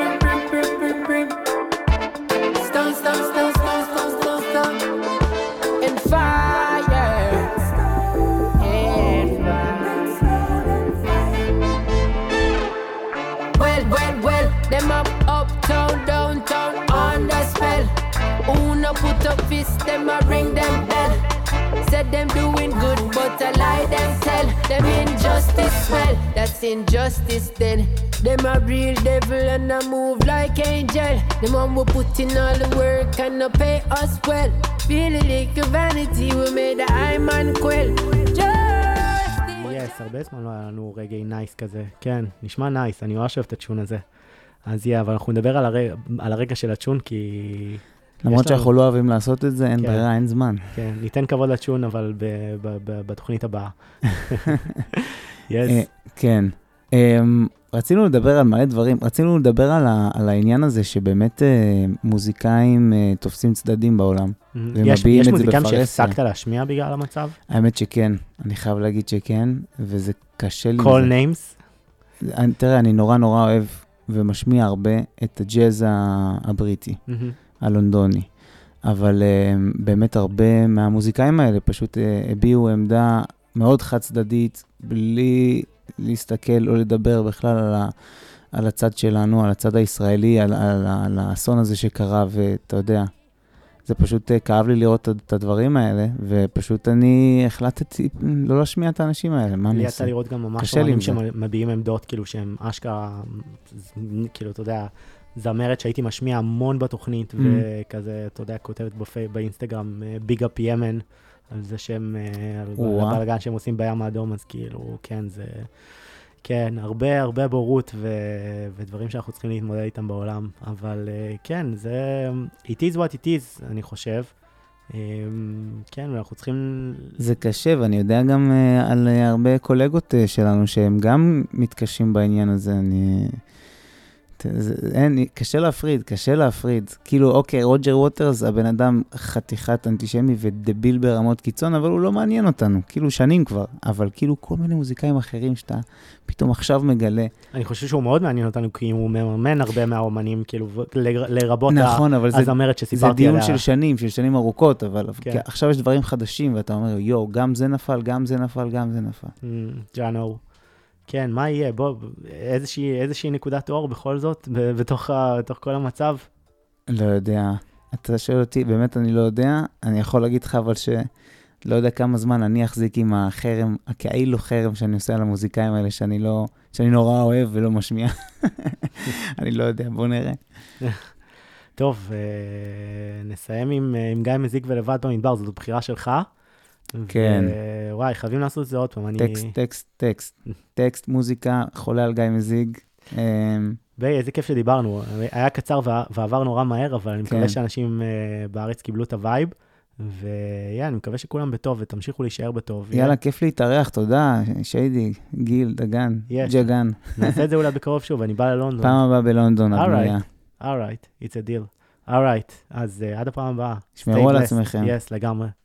And fire. Well, them uptown, downtown on the spell. Who no put up fist, them a ring them bell. Said them doing good, but I lie them tell. Them injustice well, that's injustice then. Them a real devil and a move like angel. Them one will put in all the work and no pay us well. Feel it like a vanity, we made the eye man quell. Yes, הרבה זמן לא היה לנו רגעי נייס כזה. כן, נשמע נייס, אני ממש אוהב את הצ'ון הזה. אז אבל אנחנו נדבר על הרגע של הצ'ון, כי... למרות שאנחנו לא אוהבים לעשות את זה, אין ברירה, אין זמן. כן, ניתן כבוד לצ'ון, אבל בתוכנית הבאה. כן. רצינו לדבר על מלא דברים, רצינו לדבר על העניין הזה שבאמת מוזיקאים תופסים צדדים בעולם. יש מוזיקאים שהפסקת להשמיע בגלל המצב? האמת שכן, אני חייב להגיד שכן, וזה קשה לי. Call names? תראה, אני נורא אוהב ומשמיע הרבה את הג'אז הבריטי, הלונדוני. אבל באמת הרבה מהמוזיקאים האלה פשוט הביאו עמדה מאוד חד צדדית, בלי להסתכל או לדבר בכלל על הצד שלנו, על הצד הישראלי, על האסון הזה שקרה, ואתה יודע, זה פשוט כאב לי לראות את הדברים האלה, ופשוט אני החלטתי לא להשמיע את האנשים האלה, מה אני עושה? לי יצא לראות גם ממש אומנים שמביעים עמדות, כאילו שהם אשכרה, כאילו, אתה יודע, זמרת שהייתי משמיע המון בתוכנית, וכזה, אתה יודע, כותבת באינסטגרם, ביג אפ ימן, על זה שהם, על הבלגן שהם עושים בים האדום, אז כאילו, כן, זה, כן, הרבה בורות ודברים שאנחנו צריכים להתמודד איתם בעולם, אבל כן, זה, it is what it is, אני חושב. כן, ואנחנו צריכים... זה קשה, ואני יודע גם על הרבה קולגות שלנו שהם גם מתקשים בעניין הזה, קשה להפריד. כאילו, אוקיי, רוג'ר ווטרס, הבן אדם חתיכת אנטישמי ודביל ברמות קיצון, אבל הוא לא מעניין אותנו, כאילו שנים כבר, אבל כאילו כל מיני מוזיקאים אחרים שאתה פתאום עכשיו מגלה. אני חושב שהוא מאוד מעניין אותנו, כי הוא מממן הרבה מהאומנים, כאילו, לרבות הזמרת שסיפרתי עליה. זה דיון של שנים ארוכות, אבל עכשיו יש דברים חדשים, ואתה אומר, יו, גם זה נפל, גם זה נפל, גם זה נפל. ג'אנו. כן, מה יהיה? בוא, איזושהי נקודת אור בכל זאת, בתוך כל המצב? לא יודע. אתה שואל אותי, באמת אני לא יודע. אני יכול להגיד לך, אבל שלא יודע כמה זמן אני אחזיק עם החרם, הכאילו חרם שאני עושה על המוזיקאים האלה, שאני נורא אוהב ולא משמיע. אני לא יודע, בוא נראה. טוב, נסיים עם גיא מזיק ולבד במדבר, זאת בחירה שלך. כן. וואי, חייבים לעשות את זה עוד פעם. טקסט, מוזיקה, חולה על גיא מזיג. איזה כיף שדיברנו. היה קצר ועבר נורא מהר, אבל אני מקווה שאנשים בארץ קיבלו את הווייב, אני מקווה שכולם בטוב, ותמשיכו להישאר בטוב. יאללה, כיף להתארח, תודה. שיידי, גיל, דגן, ג'גן. נעשה את זה אולי בקרוב שוב, אני בא ללונדון. פעם הבאה בלונדון, הבנייה. All right, it's a deal. All right, אז עד הפעם הבאה. שמרו על עצמכם. Yes, לגמרי.